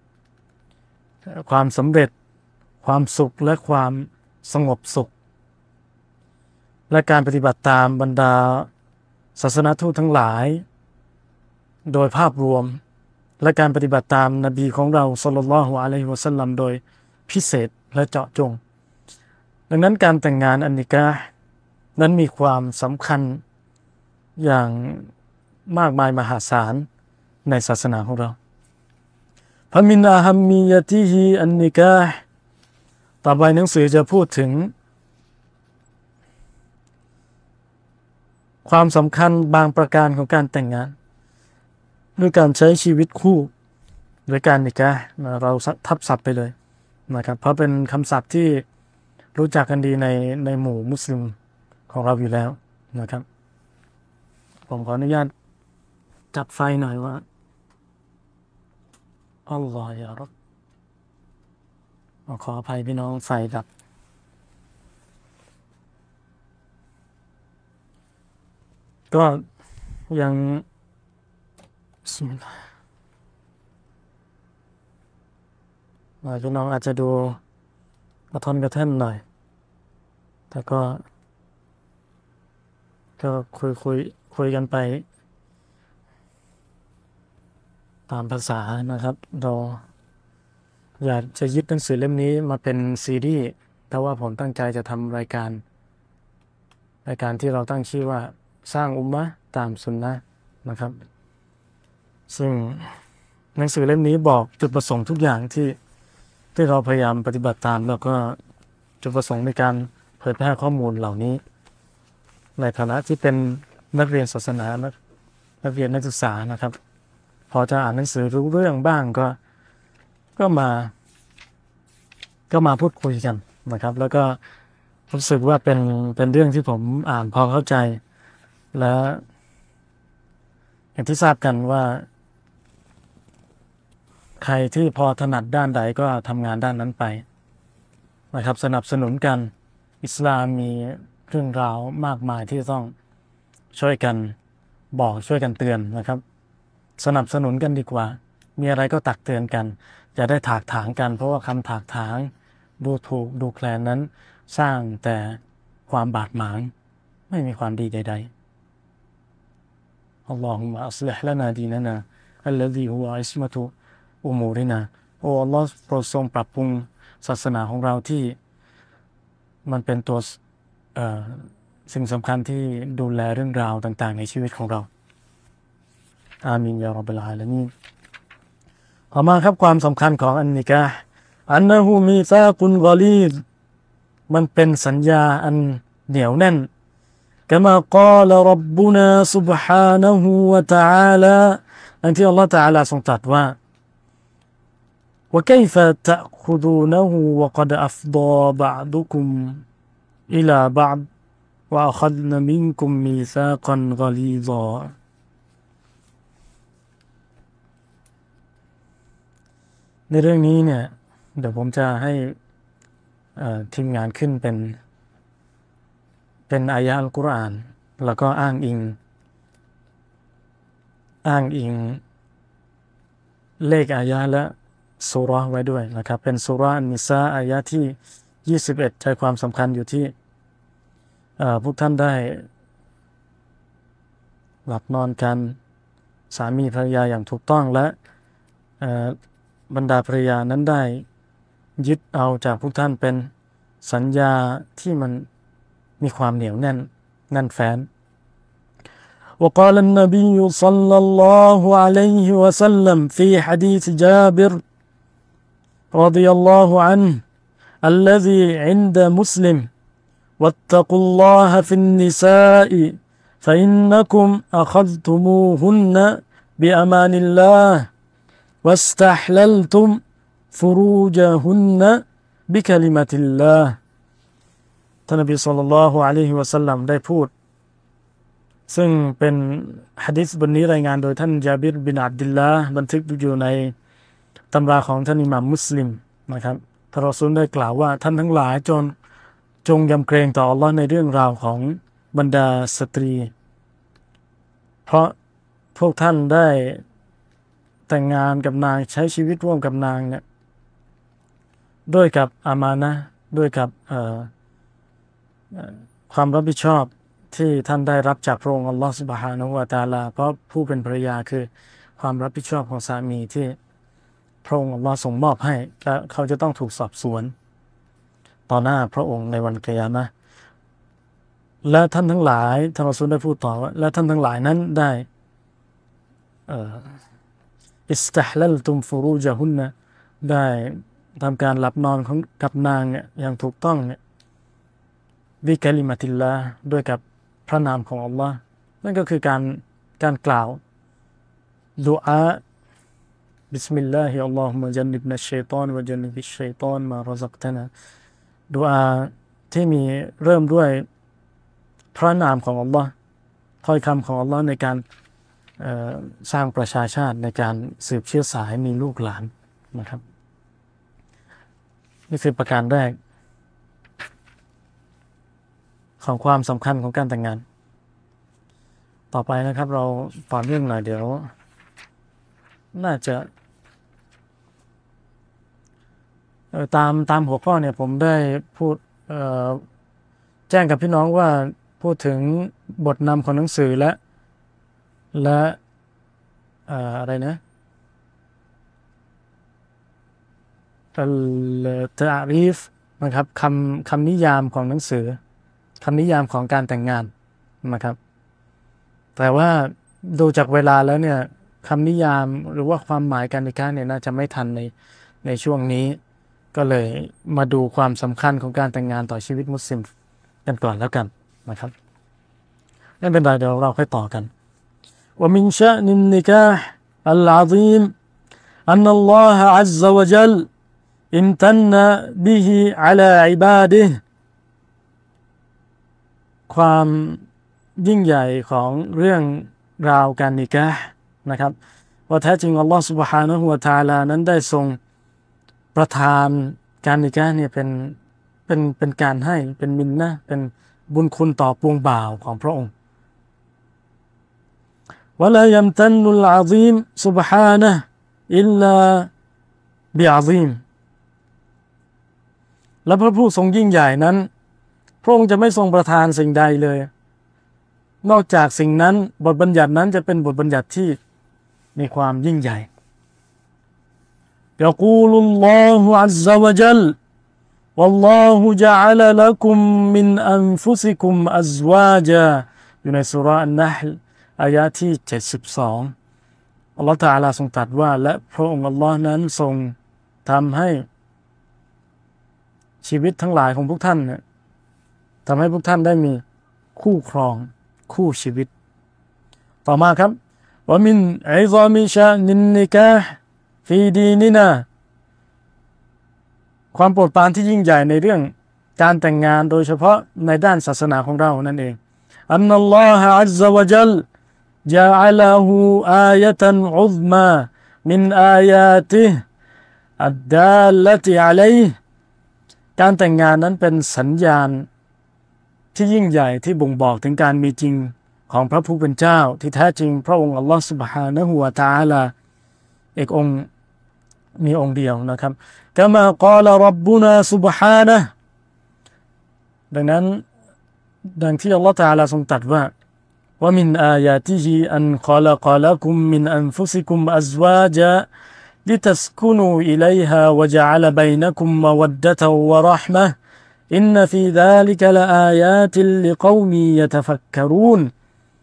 ความสำเร็จความสุขและความสงบสุขและการปฏิบัติตามบรรดาศาสนทูตทั้งหลายโดยภาพรวมและการปฏิบัติตามนบีของเราศ็อลลัลลอฮุอะลัยฮิวะซัลลัมโดยพิเศษและเจาะจงดังนั้นการแต่งงานอันนิกาฮ์นั้นมีความสำคัญอย่างมากมายมหาศาลในศาสนาของเราฟะมินอะฮัมมียะติฮิอันนิกาฮ์ต่อไปหนังสือจะพูดถึงความสำคัญบางประการของการแต่งงานด้วยการใช้ชีวิตคู่โดยการนิกาฮ์เราทับศัพท์ไปเลยนะครับเพราะเป็นคำศัพท์ที่รู้จักกันดีในในหมู่มุสลิมของเราอยู่แล้วนะครับผมขออนุญาตจับไฟหน่อยว่าอัลลอฮฺยารับขออภัยพี่น้องไฟดับก็ยังพี่น้องอาจจะดูกระทอนกระแท่นหน่อยแต่ก็ก็คุยคุยคุยกันไปตามภาษานะครับเราอยากจะยึดหนังสือเล่มนี้มาเป็นซีรีส์แต่ว่าผมตั้งใจจะทำรายการรายการที่เราตั้งชื่อว่าสร้างอุมมะห์ตามสุนนะห์นะครับซึ่งหนังสือเล่มนี้บอกจุดประสงค์ทุกอย่างที่ที่เราพยายามปฏิบัติตามแล้วก็จุดประสงค์ในการเผยแพร่ข้อมูลเหล่านี้ในฐานะที่เป็นนักเรียนศาสนานักเรียนนักศึกษานะครับพอจะอ่านหนังสือรู้เรื่องบ้างก็ก็มาก็มาพูดคุยกันนะครับแล้วก็รู้สึกว่าเป็นเป็นเรื่องที่ผมอ่านพอเข้าใจและอย่างที่ทราบกันว่าใครที่พอถนัดด้านใดก็ทำงานด้านนั้นไปนะครับสนับสนุนกันอิสลามมีเรื่องราวมากมายที่ต้องช่วยกันบอกช่วยกันเตือนนะครับสนับสนุนกันดีกว่ามีอะไรก็ตักเตือนกันอย่าได้ถากถางกันเพราะว่าคำถากถางดูถูกดูแคลนนั้นสร้างแต่ความบาดหมางไม่มีความดีใดๆอัลลอฮุมะอัศลิฮลานาดีนานาอัลลซีฮุวะอิสมะตุอุมูรินาโอ้อัลลอฮ์โปรดทรงปรับปรุงศาสนาของเราที่มันเป็นตัวเอ่อสิ่งสำคัญที่ดูแลเรื่องราวต่างๆในชีวิตของเราอามีนยาร็อบบิลอาลามีนต่อมาครับความสำคัญของอันนิกาฮ์อันนะฮูมีซากุนกอลีดมันเป็นสัญญาอันเหนียวแน่นกะมากาลร็อบบุนาซุบฮานะฮูวะตะอาลาอันที่อัลลอฮฺตะอาลาทรงตรัสว่าوكيف تأخذونه وقد أفضى بعضكم إلى بعض وأخذن منكم ميثاقا غليظا ในเรื่องนี้เนี่ยเดี๋ยวผมจะให้ทีมงานขึ้นเป็นเป็นอายะห์อัลกุรอานแล้วก็อ้างอิงอ้างอิงเลขอายะห์และซูเราะห์ไว้ด้วยนะครับเป็นซูเราะห์อันนิสาอายะห์ที่ยี่สิบเอ็ดใจความสำคัญอยู่ที่พวกท่านได้หลับนอนกันสามีภรรยาอย่างถูกต้องและบรรดาภรรยานั้นได้ยึดเอาจากพวกท่านเป็นสัญญาที่มันมีความเหนียวแน่นแน่นแฟ้น وقال النبي صلى الله عليه وسلم في حديث جابر رضي الله عنه الذي عند مسلم واتقوا الله في النساء فإنكم أخذتموهن بأمان الله واستحللتم فروجهن بكلمة الله ท่านนบีศ็อลลัลลอฮุอะลัยฮิวะซัลลัมได้พูดซึ่งเป็นหะดีษบทนี้รายงานโดยท่านญาบิรบินอับดุลลาห์บันทึกอยู่ในตำราของท่านอิหม่ามมุสลิมนะครับท่านรอซูลได้กล่าวว่าท่านทั้งหลายจงจงยำเกรงต่ออัลลอฮ์ในเรื่องราวของบรรดาสตรีเพราะพวกท่านได้แต่งงานกับนางใช้ชีวิตร่วมกับนางเนี่ยด้วยกับอามานะห์ด้วยกับความรับผิดชอบที่ท่านได้รับจากพระองค์อัลลอฮฺซุบฮานะฮูวะตะอาลาเพราะผู้เป็นภรรยาคือความรับผิดชอบของสามีที่พระองค์อัลลอฮฺส่งมอบให้และเขาจะต้องถูกสอบสวนต่อหน้าพระองค์ในวันกิยามะห์และท่านทั้งหลายท่านรอซูลได้พูดต่อว่าและท่านทั้งหลายนั้นได้อิสตัฮลัลตุมฟุรูจฮุนนะได้ทำการหลับนอนของกับนางเนี่ยอย่างถูกต้องเนี่ยบิกะลิมะติลลาห์ด้วยกับพระนามของอัลลอฮ์นั่นก็คือการการกล่าวดุอาบิสมิลลาฮิอัลลอฮุมะจันนิบนัชชัยฏอนวะจันนิบิชชัยฏอนมารซักตะนาดุอาที่มีเริ่มด้วยพระนามของอัลลอฮ์ถ้อยคำของอัลลอฮ์ในการสร้างประชาชาติในการสืบเชื้อสายมีลูกหลานนะครับนี่คือประการแรกของความสำคัญของการแต่งงานต่อไปนะครับเราต่อเนื่องหน่อยเดี๋ยวน่าจะตามตามหัวข้อเนี่ยผมได้พูดแจ้งกับพี่น้องว่าพูดถึงบทนำของหนังสือและและอะไรนะอัลตะรีฟนะครับคำคำนิยามของหนังสือคำนิยามของการแต่งงานนะครับแต่ว่าดูจากเวลาแล้วเนี่ยคำนิยามหรือว่าความหมายการนิกะห์เนี่ยน่าจะไม่ทันในในช่วงนี้ก็เลยมาดูความสำคัญของการแต่งงานต่อชีวิตมุสลิมกันก่อนแล้วกันนะครับไม่เป็นไรเดี๋ยวเราค่อยต่อกันว่ามินชะนินนิกะห์อัลอาซีมอันนัลลอฮะอัซซะวะญัลอิมตันนะบิฮิอะลาอิบาดิฮิความยิ่งใหญ่ของเรื่องราวการนิกะห์นะครับว่าแท้จริงอัลลอฮฺ سبحانه และ تعالى นั้นได้ทรงประทานการนิกะห์เนี่ยเป็นเป็นเป็นการให้เป็นมินนะห์เป็นบุญคุณต่อปวงบ่าวของพระองค์วะลายัมตันนุลอะซีม سبحانه อิลลาบิอะซีมและพระผู้ทรงยิ่งใหญ่นั้นพระองค์จะไม่ทรงประทานสิ่งใดเลยนอกจากสิ่งนั้นบทบัญญัตินั้นจะเป็นบทบัญญัติที่มีความยิ่งใหญ่ยะกูลุลลอฮุอัซซะวะญัลวัลลอฮุญะอะละละกุมมินอันฟุซิกุมอัซวาจาอยู่ในซูเราะห์อันนะห์ลอายะห์ที่เจ็ดสิบสองอัลเลาะห์ตะอาลาทรงตรัสว่าและพระองค์อัลเลาะห์นั้นทรงทำให้ชีวิตทั้งหลายของพวกท่านเนี่ยทำให้พวกท่านได้มีคู่ครองคู่ชีวิตต่อมาครับว่ามินอิซามิชะนินนิกะห์ฟีดีนินาความโปรดปรานที่ยิ่งใหญ่ในเรื่องการแต่งงานโดยเฉพาะในด้านศาสนาของเรานั่นเองอันนัลลอฮะอัซซะวะญัลญะอะละฮูอายะตันอุซมามินอายาติฮิอัดดาลละติอะลัยฮิการแต่งงานนั้นเป็นสัญญาณที่ยิ่งใหญ่ที่บ่งบอกถึงการมีจริงของพระผู้เป็นเจ้าที่แท้จริงพระองค์อัลลอฮฺ سبحانه และ تعالى เอกองค์มีองค์เดียวนะครับกะมากาลร็อบบุนา سبحانه ดังนั้นดังที่อัลลอฮฺ تعالى ทรงตรัสว่าว่ามินอายาติฮิอันขอละกอละกุมมินอันฟุซิกุมอัซวาจาลิตัสกุนูอิลัยฮาวะญะอะละบัยนะกุมมะวัดดะตะวะเราะห์มะฮ์อินนฟีซาลิกะละอายาติลลิกอมิยะตะฟักกะรูน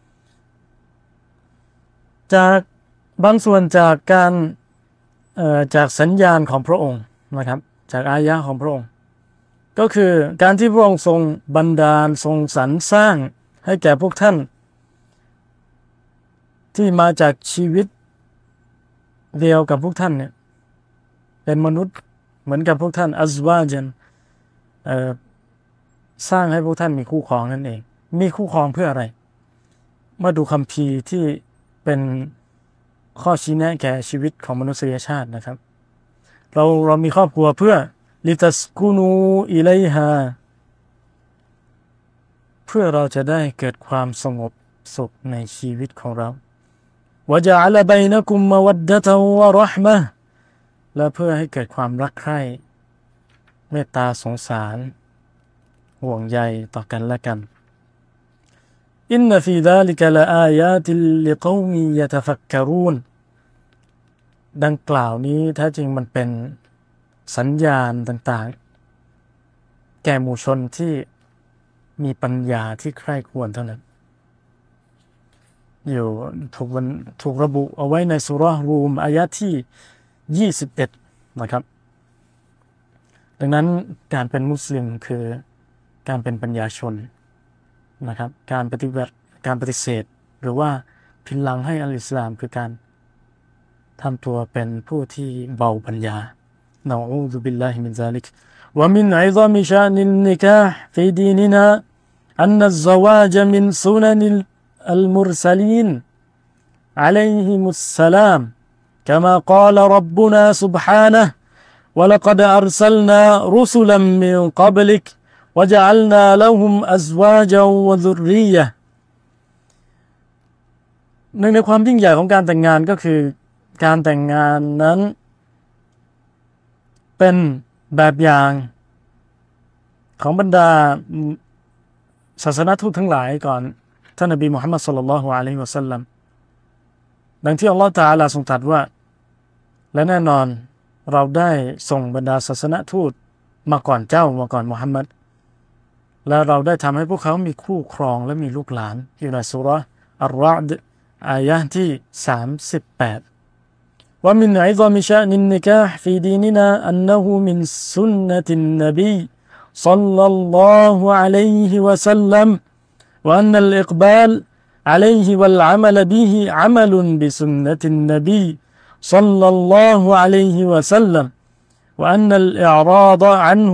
จากบางส่วนจากการเอ่อจากสัญญาณของพระองค์นะครับจากอายะห์ของพระองค์ก็คือการที่พระองค์ทรงบันดาลทรงสรรสร้างให้แก่พวกท่านที่มาจากชีวิตเดียวกับพวกท่านเนี่ยเป็นมนุษย์เหมือนกับพวกท่านอัซวาจันเอ่อสร้างให้พวกท่านมีคู่ครองนั่นเองมีคู่ครองเพื่ออะไรมาดูคัมภีร์ที่เป็นข้อชี้แนะแก่ชีวิตของมนุษยชาตินะครับเราเรามีครอบครัวเพื่อลิตัสกุนูอิลัยฮาเพื่อเราจะได้เกิดความสงบสุขในชีวิตของเราวะญะอะละบัยนะกุมมะวัดดะตะวะเราะห์มะฮ์และเพื่อให้เกิดความรักใคร่เมตตาสงสารห่วงใยต่อกันและกันอินนะฟีซาลิกะละอายาติลลิกอมิยะตะฟักกะรูนดังกล่าวนี้แท้จริงมันเป็นสัญญาณต่างๆแก่หมู่ชนที่มีปัญญาที่ใคร่ควรเท่านั้นอยู่ถูกวันถูกระบุเอาไว้ในซูเราะห์รูมอายะที่ยี่สิบเอ็ดนะครับดังนั้นการเป็นมุสลิมคือการเป็นปัญญาชนนะครับการปฏิบัติการปฏิเสธหรือว่าพินหลังให้อัลอิสลามคือการทำตัวเป็นผู้ที่เบาปัญญานะอูซุบิลลาฮิมินซาลิกวะมินอิซามิชานินนิกาฮ์ฟีดีนินาอันนัซซะวาจมินซุนันิลอัลมุรซะลีนอะลัยฮิมุสสลาม كما قال ربنا سبحانه ولقد أرسلنا رسلا من قبلك وجعلنا لهم أزواجا وذرية หนึ่งในความยิ่งใหญ่ของการแต่งงานก็คือการแต่งงานนั้นเป็นแบบอย่างของบรรดาศาสนทูตทั้งหลายก่อนท่านนบีมุฮัมมัดศ็อลลัลลอฮุอะลัยฮิวะซัลลัมดังที่อัลลอฮฺตะอาลาทรงตรัสว่าและแน่นอนเราได้ส่งบรรดาศาสนทูตมาก่อนเจ้ามาก่อนมุฮัมมัดและเราได้ทำให้พวกเขามีคู่ครองและมีลูกหลานอยู่ในซูเราะห์อัรเราะด์อายะห์ที่สามสิบแปดว่ามินอิซามิชะนินนิกาฮ์ฟีดีนินาอันนะฮูมินสุนนะตินนบีศ็อลลัลลอฮุอะลัยฮิวะซัลลัมวะอันนัลอิกบาลعليه والعمل به عمل بسنة النبي صلى الله عليه وسلم وأن الإعراض عنه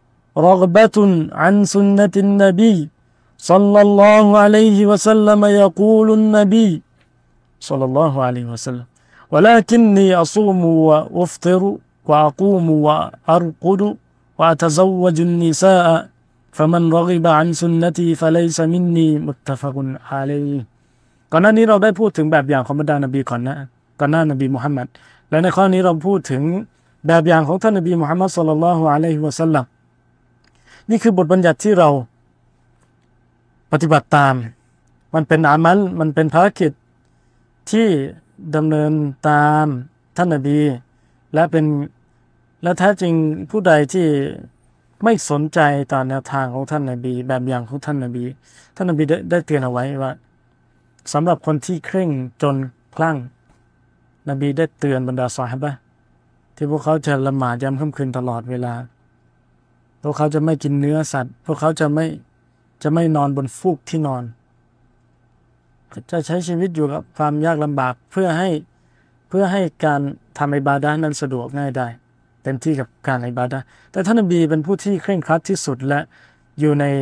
رغبة عن سنة النبي صلى الله عليه وسلم يقول النبي صلى الله عليه وسلم ولكني أصوم وأفطر وأقوم وأرقد وأتزوج النساء فمن رغب عن سنتي فليس مني متفق عليه ก่อนหน้านี้เราได้พูดถึงแบบอย่างของบรรดานบีก่อนนะก่อนหน้านบีมุฮัมมัดและในข้อนี้เราพูดถึงแบบอย่างของท่านนบีมุฮัมมัดศ็อลลัลลอฮุอะลัยฮิวะซัลลัมนี่คือบทบัญญัติที่เราปฏิบัติตามมันเป็นอามัลมันเป็นภารกิจที่ดำเนินตามท่านนบีและเป็นและแท้จริงผู้ใดที่ไม่สนใจต่อแนวทางของท่านนบีแบบอย่างของท่านนบีท่านนบีได้ได้เตือนเอาไว้ว่าสำหรับคนที่เคร่งจนคลั่งนบีได้เตือนบรรดาซอฮาบะห์ที่พวกเขาจะละหมาดยามค่ำคืนตลอดเวลาพวกเขาจะไม่กินเนื้อสัตว์พวกเขาจะไม่จะไม่นอนบนฟูกที่นอนจะใช้ชีวิตอยู่กับความยากลำบากเพื่อให้เพื่อให้การทำอิบาดะห์นั้นสะดวกง่ายได้เต็มที่กับการอิบาดะห์แต่ท่านนบีเป็นผู้ที่เคร่งครัดที่สุดและอยู่ใน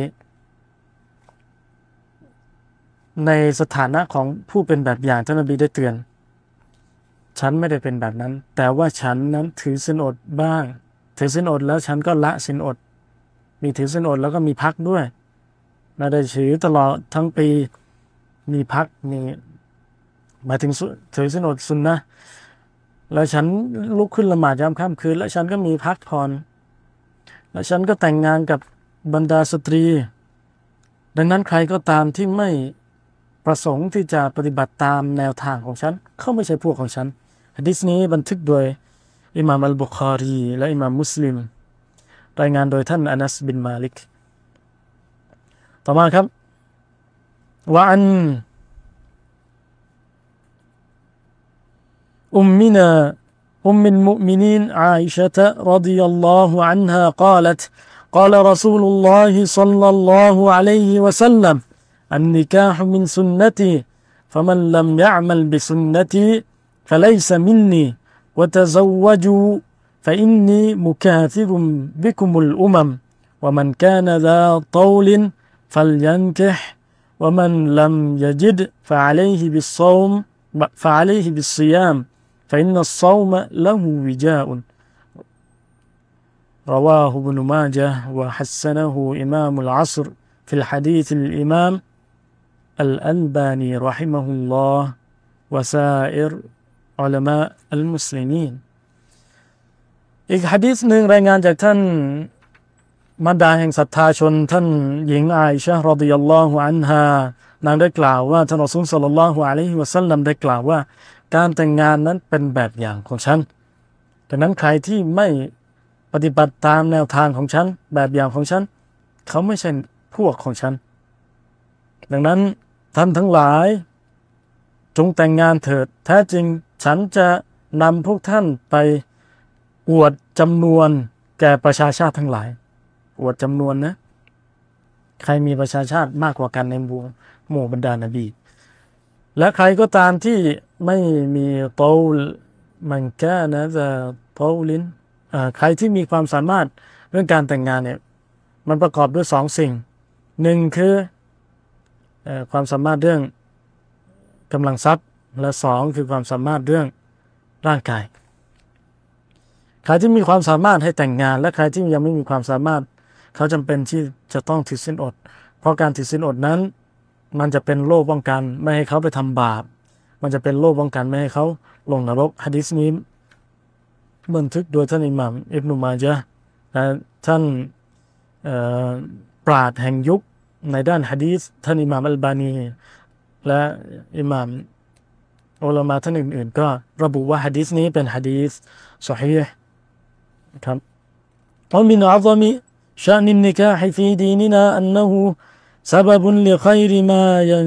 ในสถานะของผู้เป็นแบบอย่างท่านนบีได้เตือนฉันไม่ได้เป็นแบบนั้นแต่ว่าฉันนั้นถือศีลอดบ้างถือศีลอดแล้วฉันก็ละศีลอดมีถือศีลอดแล้วก็มีพักด้วยไม่ได้ถือตลอดทั้งปีมีพักมีหมายถึงถือศีลอดซุนนะห์แล้วฉันลุกขึ้นละหมาดยามค่ำคืนแล้วฉันก็มีพักผ่อนแล้วฉันก็แต่งงานกับบรรดาสตรีดังนั้นใครก็ตามที่ไม่ประสงค์ที่จะปฏิบัติตามแนวทางของฉันเขาไม่ใช่พวกของฉันหะดีษนี้บันทึกโดยอิหม่ามอัลบุคอรีและอิหม่ามมุสลิมรายงานโดยท่านอานัสบินมาลิกต่อมาครับวะอันأمنا أم المؤمنين عائشة رضي الله عنها قالت قال رسول الله صلى الله عليه وسلم النكاح من سنتي فمن لم يعمل بسنتي فليس مني وتزوجوا فإني مكاثر بكم الأمم ومن كان ذا طول فلينكح ومن لم يجد فعليه بالصوم فعليه بالصيام فإن الصوم له وجاء رواه ابن ماجه وحسنه إمام العصر في الحديث الإمام الألباني رحمه الله وسائر علماء المسلمين อีกหะดีษหนึ่งรายงานจากท่านมารดาแห่งศรัทธาชนท่านหญิงอาอิชะห์รอฎิยัลลอฮุอันฮานางได้กล่าวว่าท่านรอซูลศ็อลลัลลอฮุอะลัยฮิวะซัลลัมได้กล่าวว่าการแต่งงานนั้นเป็นแบบอย่างของฉันดังนั้นใครที่ไม่ปฏิบัติตามแนวทางของฉันแบบอย่างของฉันเขาไม่ใช่พวกของฉันดังนั้นท่านทั้งหลายจงแต่งงานเถิดแท้จริงฉันจะนำพวกท่านไปอวดจำนวนแก่ประชาชาติทั้งหลายอวดจำนวนนะใครมีประชาชาติมากกว่ากันในหมู่หมู่บรรดานบีและใครก็ตามที่ไม่มีเตามันแค่นะจะเตาลินใครที่มีความสามารถเรื่องการแต่งงานเนี่ยมันประกอบด้วยสองสิ่งหนึ่งคือความสามารถเรื่องกำลังทรัพย์และสองคือความสามารถเรื่องร่างกายใครที่มีความสามารถให้แต่งงานและใครที่ยังไม่มีความสามารถเขาจำเป็นที่จะต้องถือศีลอดเพราะการถือศีลอดนั้นมันจะเป็นโล่ป้องกันไม่ให้เขาไปทำบาปมันจะเป็นโล่ป้องกันไม่ให้เขาลงนรกหะดีษนี้บันทึกโดยท่านอิหม่ามอิบนุมาญะห์และท่านปราชญ์แห่งยุคในด้านหะดีษท่านอิหม่ามอัลบานีและอิหม่ามอุลามะท่านอื่นๆก็ระบุว่าหะดีษนี้เป็นหะดีษซอฮีฮ์ครับومن أعظم شأن النكاح في ديننا أنه سبب لخير ما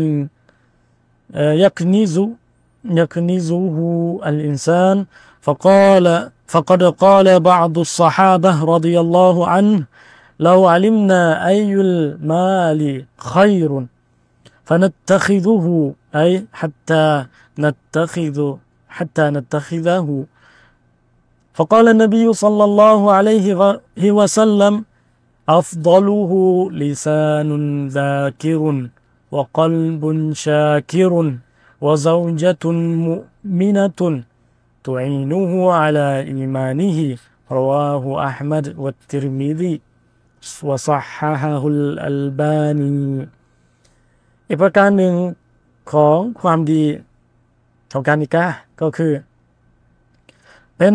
يكنز يكنزه الإنسان فقال فقد قال بعض الصحابة رضي الله عنه لو علمنا أي المال خير فنتخذه أي حتى نتخذ حتى نتخذه فقال النبي صلى الله عليه وسلم أفضله لسان ذاكر وقلب شاكر وزوجة مؤمنة تعينه على إيمانه رواه أحمد والترمذي وصححه الألباني อีกประการหนึ่งของความดีของการนิกะห์ก็คือเป็น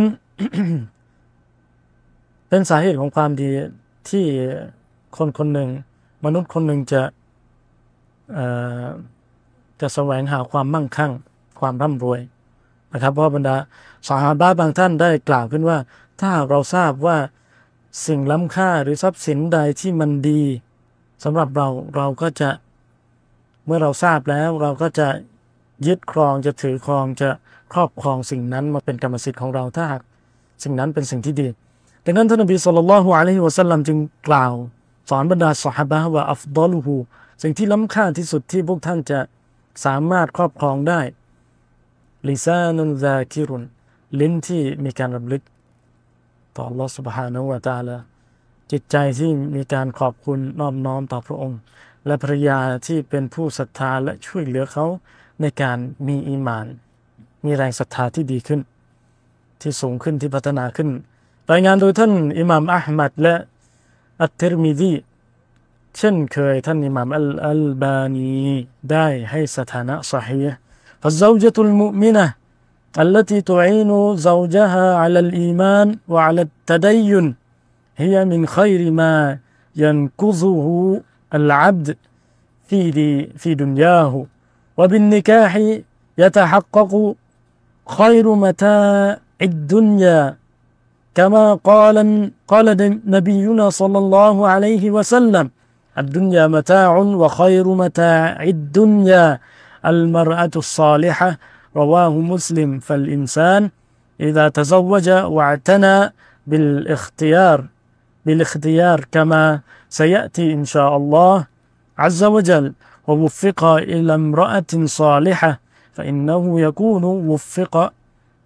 เป็นสาเหตุของความดีที่คนคนหนึ่งมนุษย์คนหนึ่งจะเอ่อจะแสวงหาความมั่งคั่งความร่ำรวยนะครับเพราะบรรดาซอฮาบะห์บางท่านได้กล่าวขึ้นว่าถ้าเราทราบว่าสิ่งล้ำค่าหรือทรัพย์สินใดที่มันดีสำหรับเราเราก็จะเมื่อเราทราบแล้วเราก็จะยึดครองจะถือครองจะครอบครองสิ่งนั้นมาเป็นกรรมสิทธิ์ของเราถ้าหากสิ่งนั้นเป็นสิ่งที่ดีดังนั้นท่านนบีศ็อลลัลลอฮุอะลัยฮิวะซัลลัมจึงกล่าวสอนบรรดาซอฮาบะห์ว่าอัฟฎอลุฮูสิ่งที่ล้ำค่าที่สุดที่พวกท่านจะสามารถครอบครองได้ลิซานุนซาคิรุนลิ้นที่มีการรำลึกต่ออัลเลาะห์ซุบฮานะฮูวะตะอาลาจิตใจที่มีการขอบคุณนอบน้อมต่อพระองค์และภรรยาที่เป็นผู้ศรัทธาและช่วยเหลือเขาในการมีอีหม่านมีแรงศรัทธาที่ดีขึ้นที่สูงขึ้นที่พัฒนาขึ้นรายงานโดยท่านอิหม่ามอะห์มัดและอัตติรมิซีเช่นเคยท่านอิหม่ามอัลอัลบานีได้ให้สถานะซอฮีฮ์ فالزوجة المؤمنة التي تعين زوجها على الإيمان وعلى التدين هي من خير ما ينكزه العبد في في دنياه وبالنكاح يتحقق خير متاع الدنيا كما قال قال نبينا صلى الله عليه وسلم الدنيا متاع وخير متاع الدنيا المرأة الصالحة رواه مسلم فالإنسان إذا تزوج واعتنى بالاختيار بالاختيار كما سيأتي إن شاء الله عز وجل ووفق إلى امرأة صالحة فإنه يكون وفق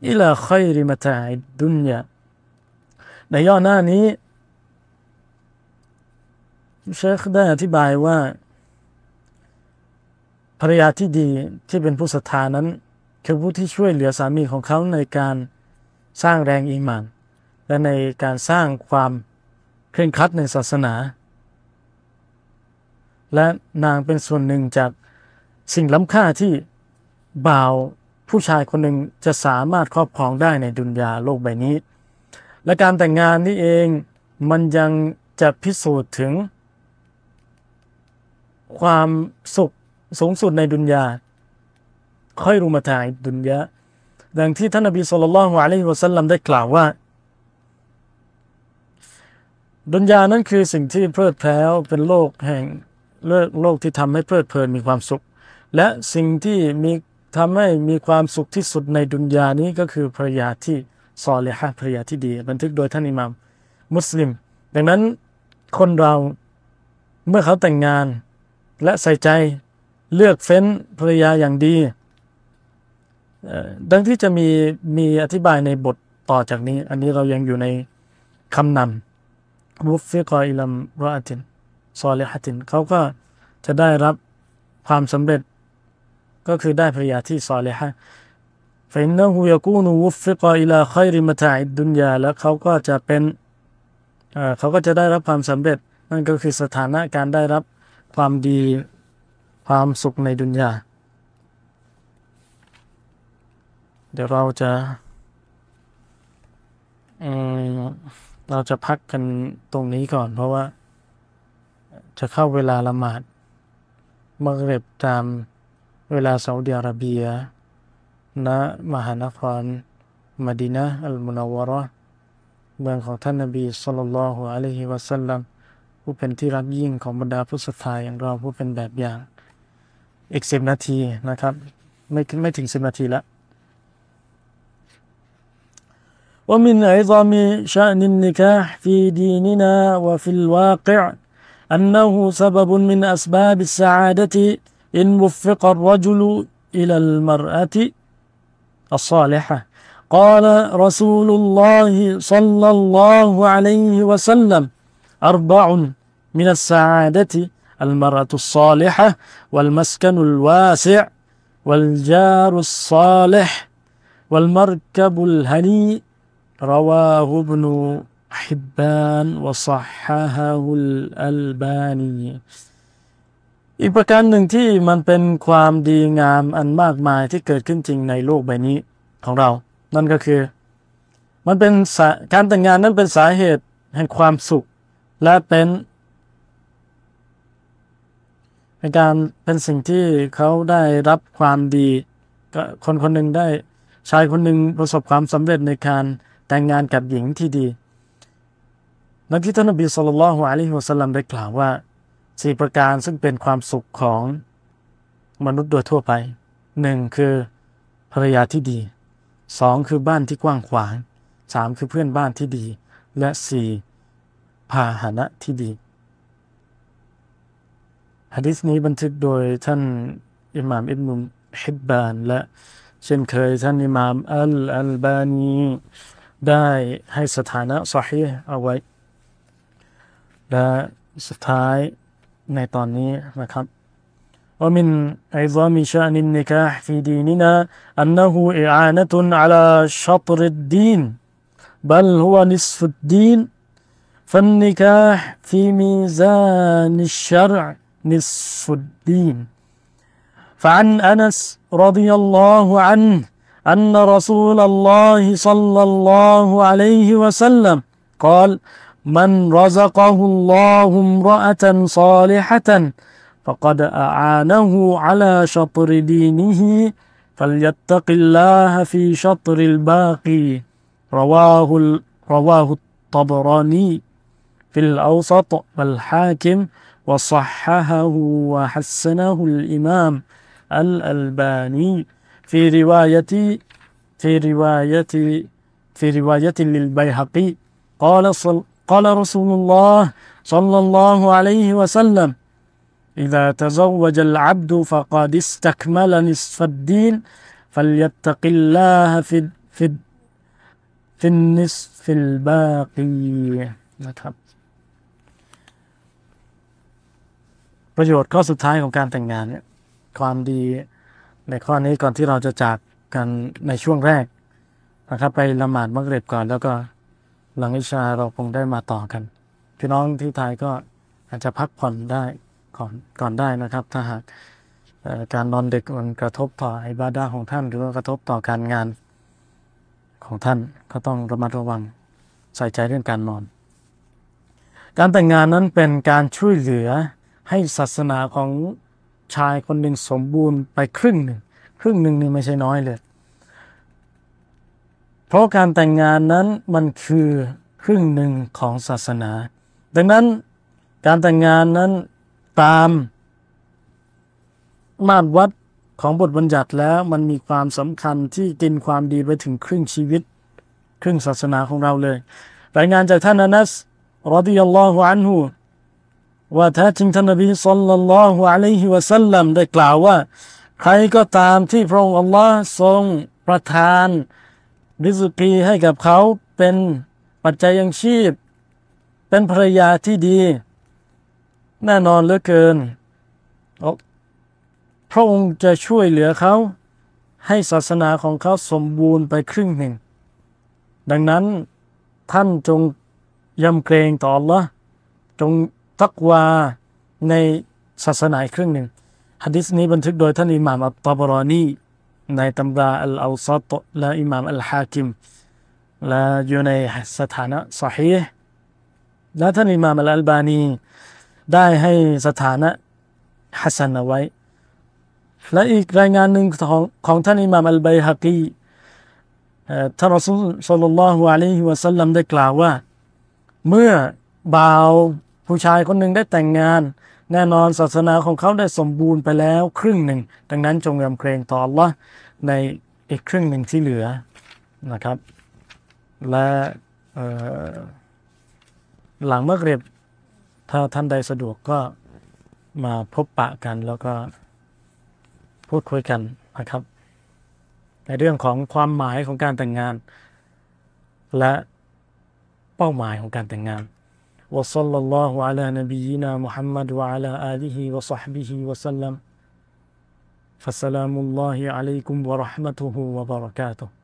อิลาค็อยริมะตาอิดดุนยาในย่อหน้านี้เชคได้อธิบายว่าภรรยาที่ดีที่เป็นผู้ศรัทธานั้นคือผู้ที่ช่วยเหลือสามีของเขาในการสร้างแรงอีหม่านและในการสร้างความเคร่งครัดในศาสนาและนางเป็นส่วนหนึ่งจากสิ่งล้ำค่าที่บ่าวผู้ชายคนหนึ่งจะสามารถครอบครองได้ในดุนยาโลกใบนี้และการแต่งงานนี่เองมันยังจะพิสูจน์ถึงความสุขสูงสุดในดุนยาค่อยรุมาตาอิดดุนยาดังที่ท่านนบีศ็อลลัลลอฮุอะลัยฮิวะซัลลัมได้กล่าวว่าดุนยานั้นคือสิ่งที่เพลิดเพลินเป็นโลกแห่งโลกโลกที่ทำให้เพลิดเพลินมีความสุขและสิ่งที่มีทำให้มีความสุขที่สุดในดุนยานี้ก็คือภรรยาที่ซอลิฮะห์ภรรยาที่ดีบันทึกโดยท่านอิหม่ามมุสลิมดังนั้นคนเราเมื่อเขาแต่งงานและใส่ใจเลือกเฟ้นภรรยาอย่างดีดังที่จะมีมีอธิบายในบทต่อจากนี้อันนี้เรายังอยู่ในคำนำวุฟฟิกออิลัมรออะตินซอลิฮะตินเขาก็จะได้รับความสำเร็จก็คือได้ภรรยาที่ซอลิฮะห์ฟะอินนะฮูยะกูนุวุฟฟิกออิลาค็อยริมะตาอิดดุนยาแล้วเขาก็จะเป็นเอ่อเขาก็จะได้รับความสำเร็จนั่นก็คือสถานะการได้รับความดีความสุขในดุนยาเดี๋ยวเราจะเอ่อเราจะพักกันตรงนี้ก่อนเพราะว่าจะเข้าเวลาละหมาดมักริบตามเวลาซาอุดิอาระเบียณมหานครมะดีนะห์อัลมุนัววะเราะห์เมืองของท่านนบีศ็อลลัลลอฮุอะลัยฮิวะซัลลัมผู้เป็นที่รักยิ่งของบรรดาผู้ศรัทธาอย่างเราผู้เป็นแบบอย่างอีกสิบนาทีนะครับไม่ไม่ถึงสิบนาทีละومن عظم شأن النكاح في ديننا وفي الواقع أنه سبب من أسباب السعادة إن وفق الرجل إلى المرأة الصالحة قال رسول الله صلى الله عليه وسلم أربع من السعادة المرأة الصالحة والمسكن الواسع والجار الصالح والمركب الهنيء رواه ابن حبان وصححه الألباني อีกประการหนึ่งที่มันเป็นความดีงามอันมากมายที่เกิดขึ้นจริงในโลกใบนี้ของเรานั่นก็คือมันเป็นการแต่งงานนั้นเป็นสาเหตุแห่งความสุขและเป็นเป็นการเป็นสิ่งที่เขาได้รับความดีก็คนคนหนึ่งได้ชายคนหนึ่งประสบความสำเร็จในการแต่งงานกับหญิงที่ดีดังที่ท่านนบีศ็อลลัลลอฮุอะลัยฮิวะซัลลัมได้กล่าวว่าสี่ประการซึ่งเป็นความสุขของมนุษย์โดยทั่วไปหนึ่งคือภรรยาที่ดีสองคือบ้านที่กว้างขวางสามคือเพื่อนบ้านที่ดีและสี่พาหนะที่ดีหะดีษนี้บันทึกโดยท่านอิหม่ามอิบนุฮิบบานและเช่นเคยท่านอิหม่ามอัลอัลบานีได้ให้สถานะซอฮีฮ์เอาไว้และสุดท้ายในตอนนี้นะครับ ومن عظام شأن النكاح في ديننا أنه إعانة على شطر الدين بل هو نصف الدين فالنكاح في ميزان الشرع نصف الدين فعن أنس رضي الله عنه أن رسول الله صلى الله عليه وسلم قال من رزقه الله امرأة صالحة فقد أعانه على شطر دينه فليتق الله في شطر الباقي رواه رواه الطبراني في الأوسط والحاكم وصححه وحسنه الإمام الألباني في رواية في رواية في رواية للبيهقي قال صل قال رسول الله صلى الله عليه وسلم إذا تزوج العبد فقد استكمل نصف الدين فليتق الله في ฟิดฟินนิสฟิลบากีนะครับประโยชน์ข้อสุดท้ายของการแต่งงานเนี่ยความดีในข้อนี้ก่อนที่เราจะจากกันในช่วงแรกนะครับไปละหมาดมักริบก่อนแล้วก็หลังอิชาเราคงได้มาต่อกันพี่น้องที่ไทยก็อาจจะพักผ่อนได้ก่อนก่อนได้นะครับถ้าหากการนอนดึกมันกระทบต่ออิบาดะห์ของท่านหรือว่ากระทบต่อการงานของท่านก็ต้องระมัดระวังใส่ใจเรื่องการนอนการแต่งงานนั้นเป็นการช่วยเหลือให้ศาสนาของชายคนหนึ่งสมบูรณ์ไปครึ่งหนึ่งครึ่งหนึ่งนี่ไม่ใช่น้อยเลยเพราะการแต่งงานนั้นมันคือครึ่งหนึ่งของศาสนาดังนั้นการแต่งงานนั้นตามมาตรวัดของบทบัญญัติแล้วมันมีความสำคัญที่กินความดีไปถึงครึ่งชีวิตครึ่งศาสนาของเราเลยรายงานจากท่านอานัสรอฎิยัลลอฮุอันฮุว่าแท้จริงท่านนบีศ็อลลัลลอฮุอะลัยฮิวะซัลลัมได้กล่าวว่าใครก็ตามที่พระองค์อัลลอฮ์ทรงประทานริซกีให้กับเขาเป็นปัจจัยยังชีพเป็นภรรยาที่ดีแน่นอนเหลือเกินพระองค์จะช่วยเหลือเขาให้ศาสนาของเขาสมบูรณ์ไปครึ่งหนึ่งดังนั้นท่านจงยำเกรงต่อ Allah จงตักวาในศาสนาครึ่งหนึ่งหะดีษนี้บันทึกโดยท่านอิหม่ามอัตตะบารอนีในตำราอัลเอาซัตและอิหม่ามอัลฮากิมและอยู่ในสถานะซอฮีห์และท่านอิหม่ามอัลอัลบานีได้ให้สถานะฮัสซันเอาไว้และอีกรายงานหนึ่งของของท่านอิหม่ามอัลบัยฮะกีท่านรอซูลศ็อลลัลลอฮุอะลัยฮิวะซัลลัมได้กล่าวว่าเมื่อบ่าวผู้ชายคนหนึ่งได้แต่งงานแน่นอนศาสนาของเขาได้สมบูรณ์ไปแล้วครึ่งหนึ่งดังนั้นจงยำเกรงต่อ Allah ในอีกครึ่งหนึ่งที่เหลือนะครับและหลังมักริบถ้าท่านใดสะดวกก็มาพบปะกันแล้วก็พูดคุยกันนะครับในเรื่องของความหมายของการแต่งงานและเป้าหมายของการแต่งงานวะศ็อลลัลลอฮุอะลานบียินามุฮัมมัดวะอะลาอาลิฮิวะศ็อฮบิฮิวะซัลลัมฟัสสลามุลลอฮิอะลัยกุมวะเราะห์มะตุฮุวะบะเราะกาตุฮ์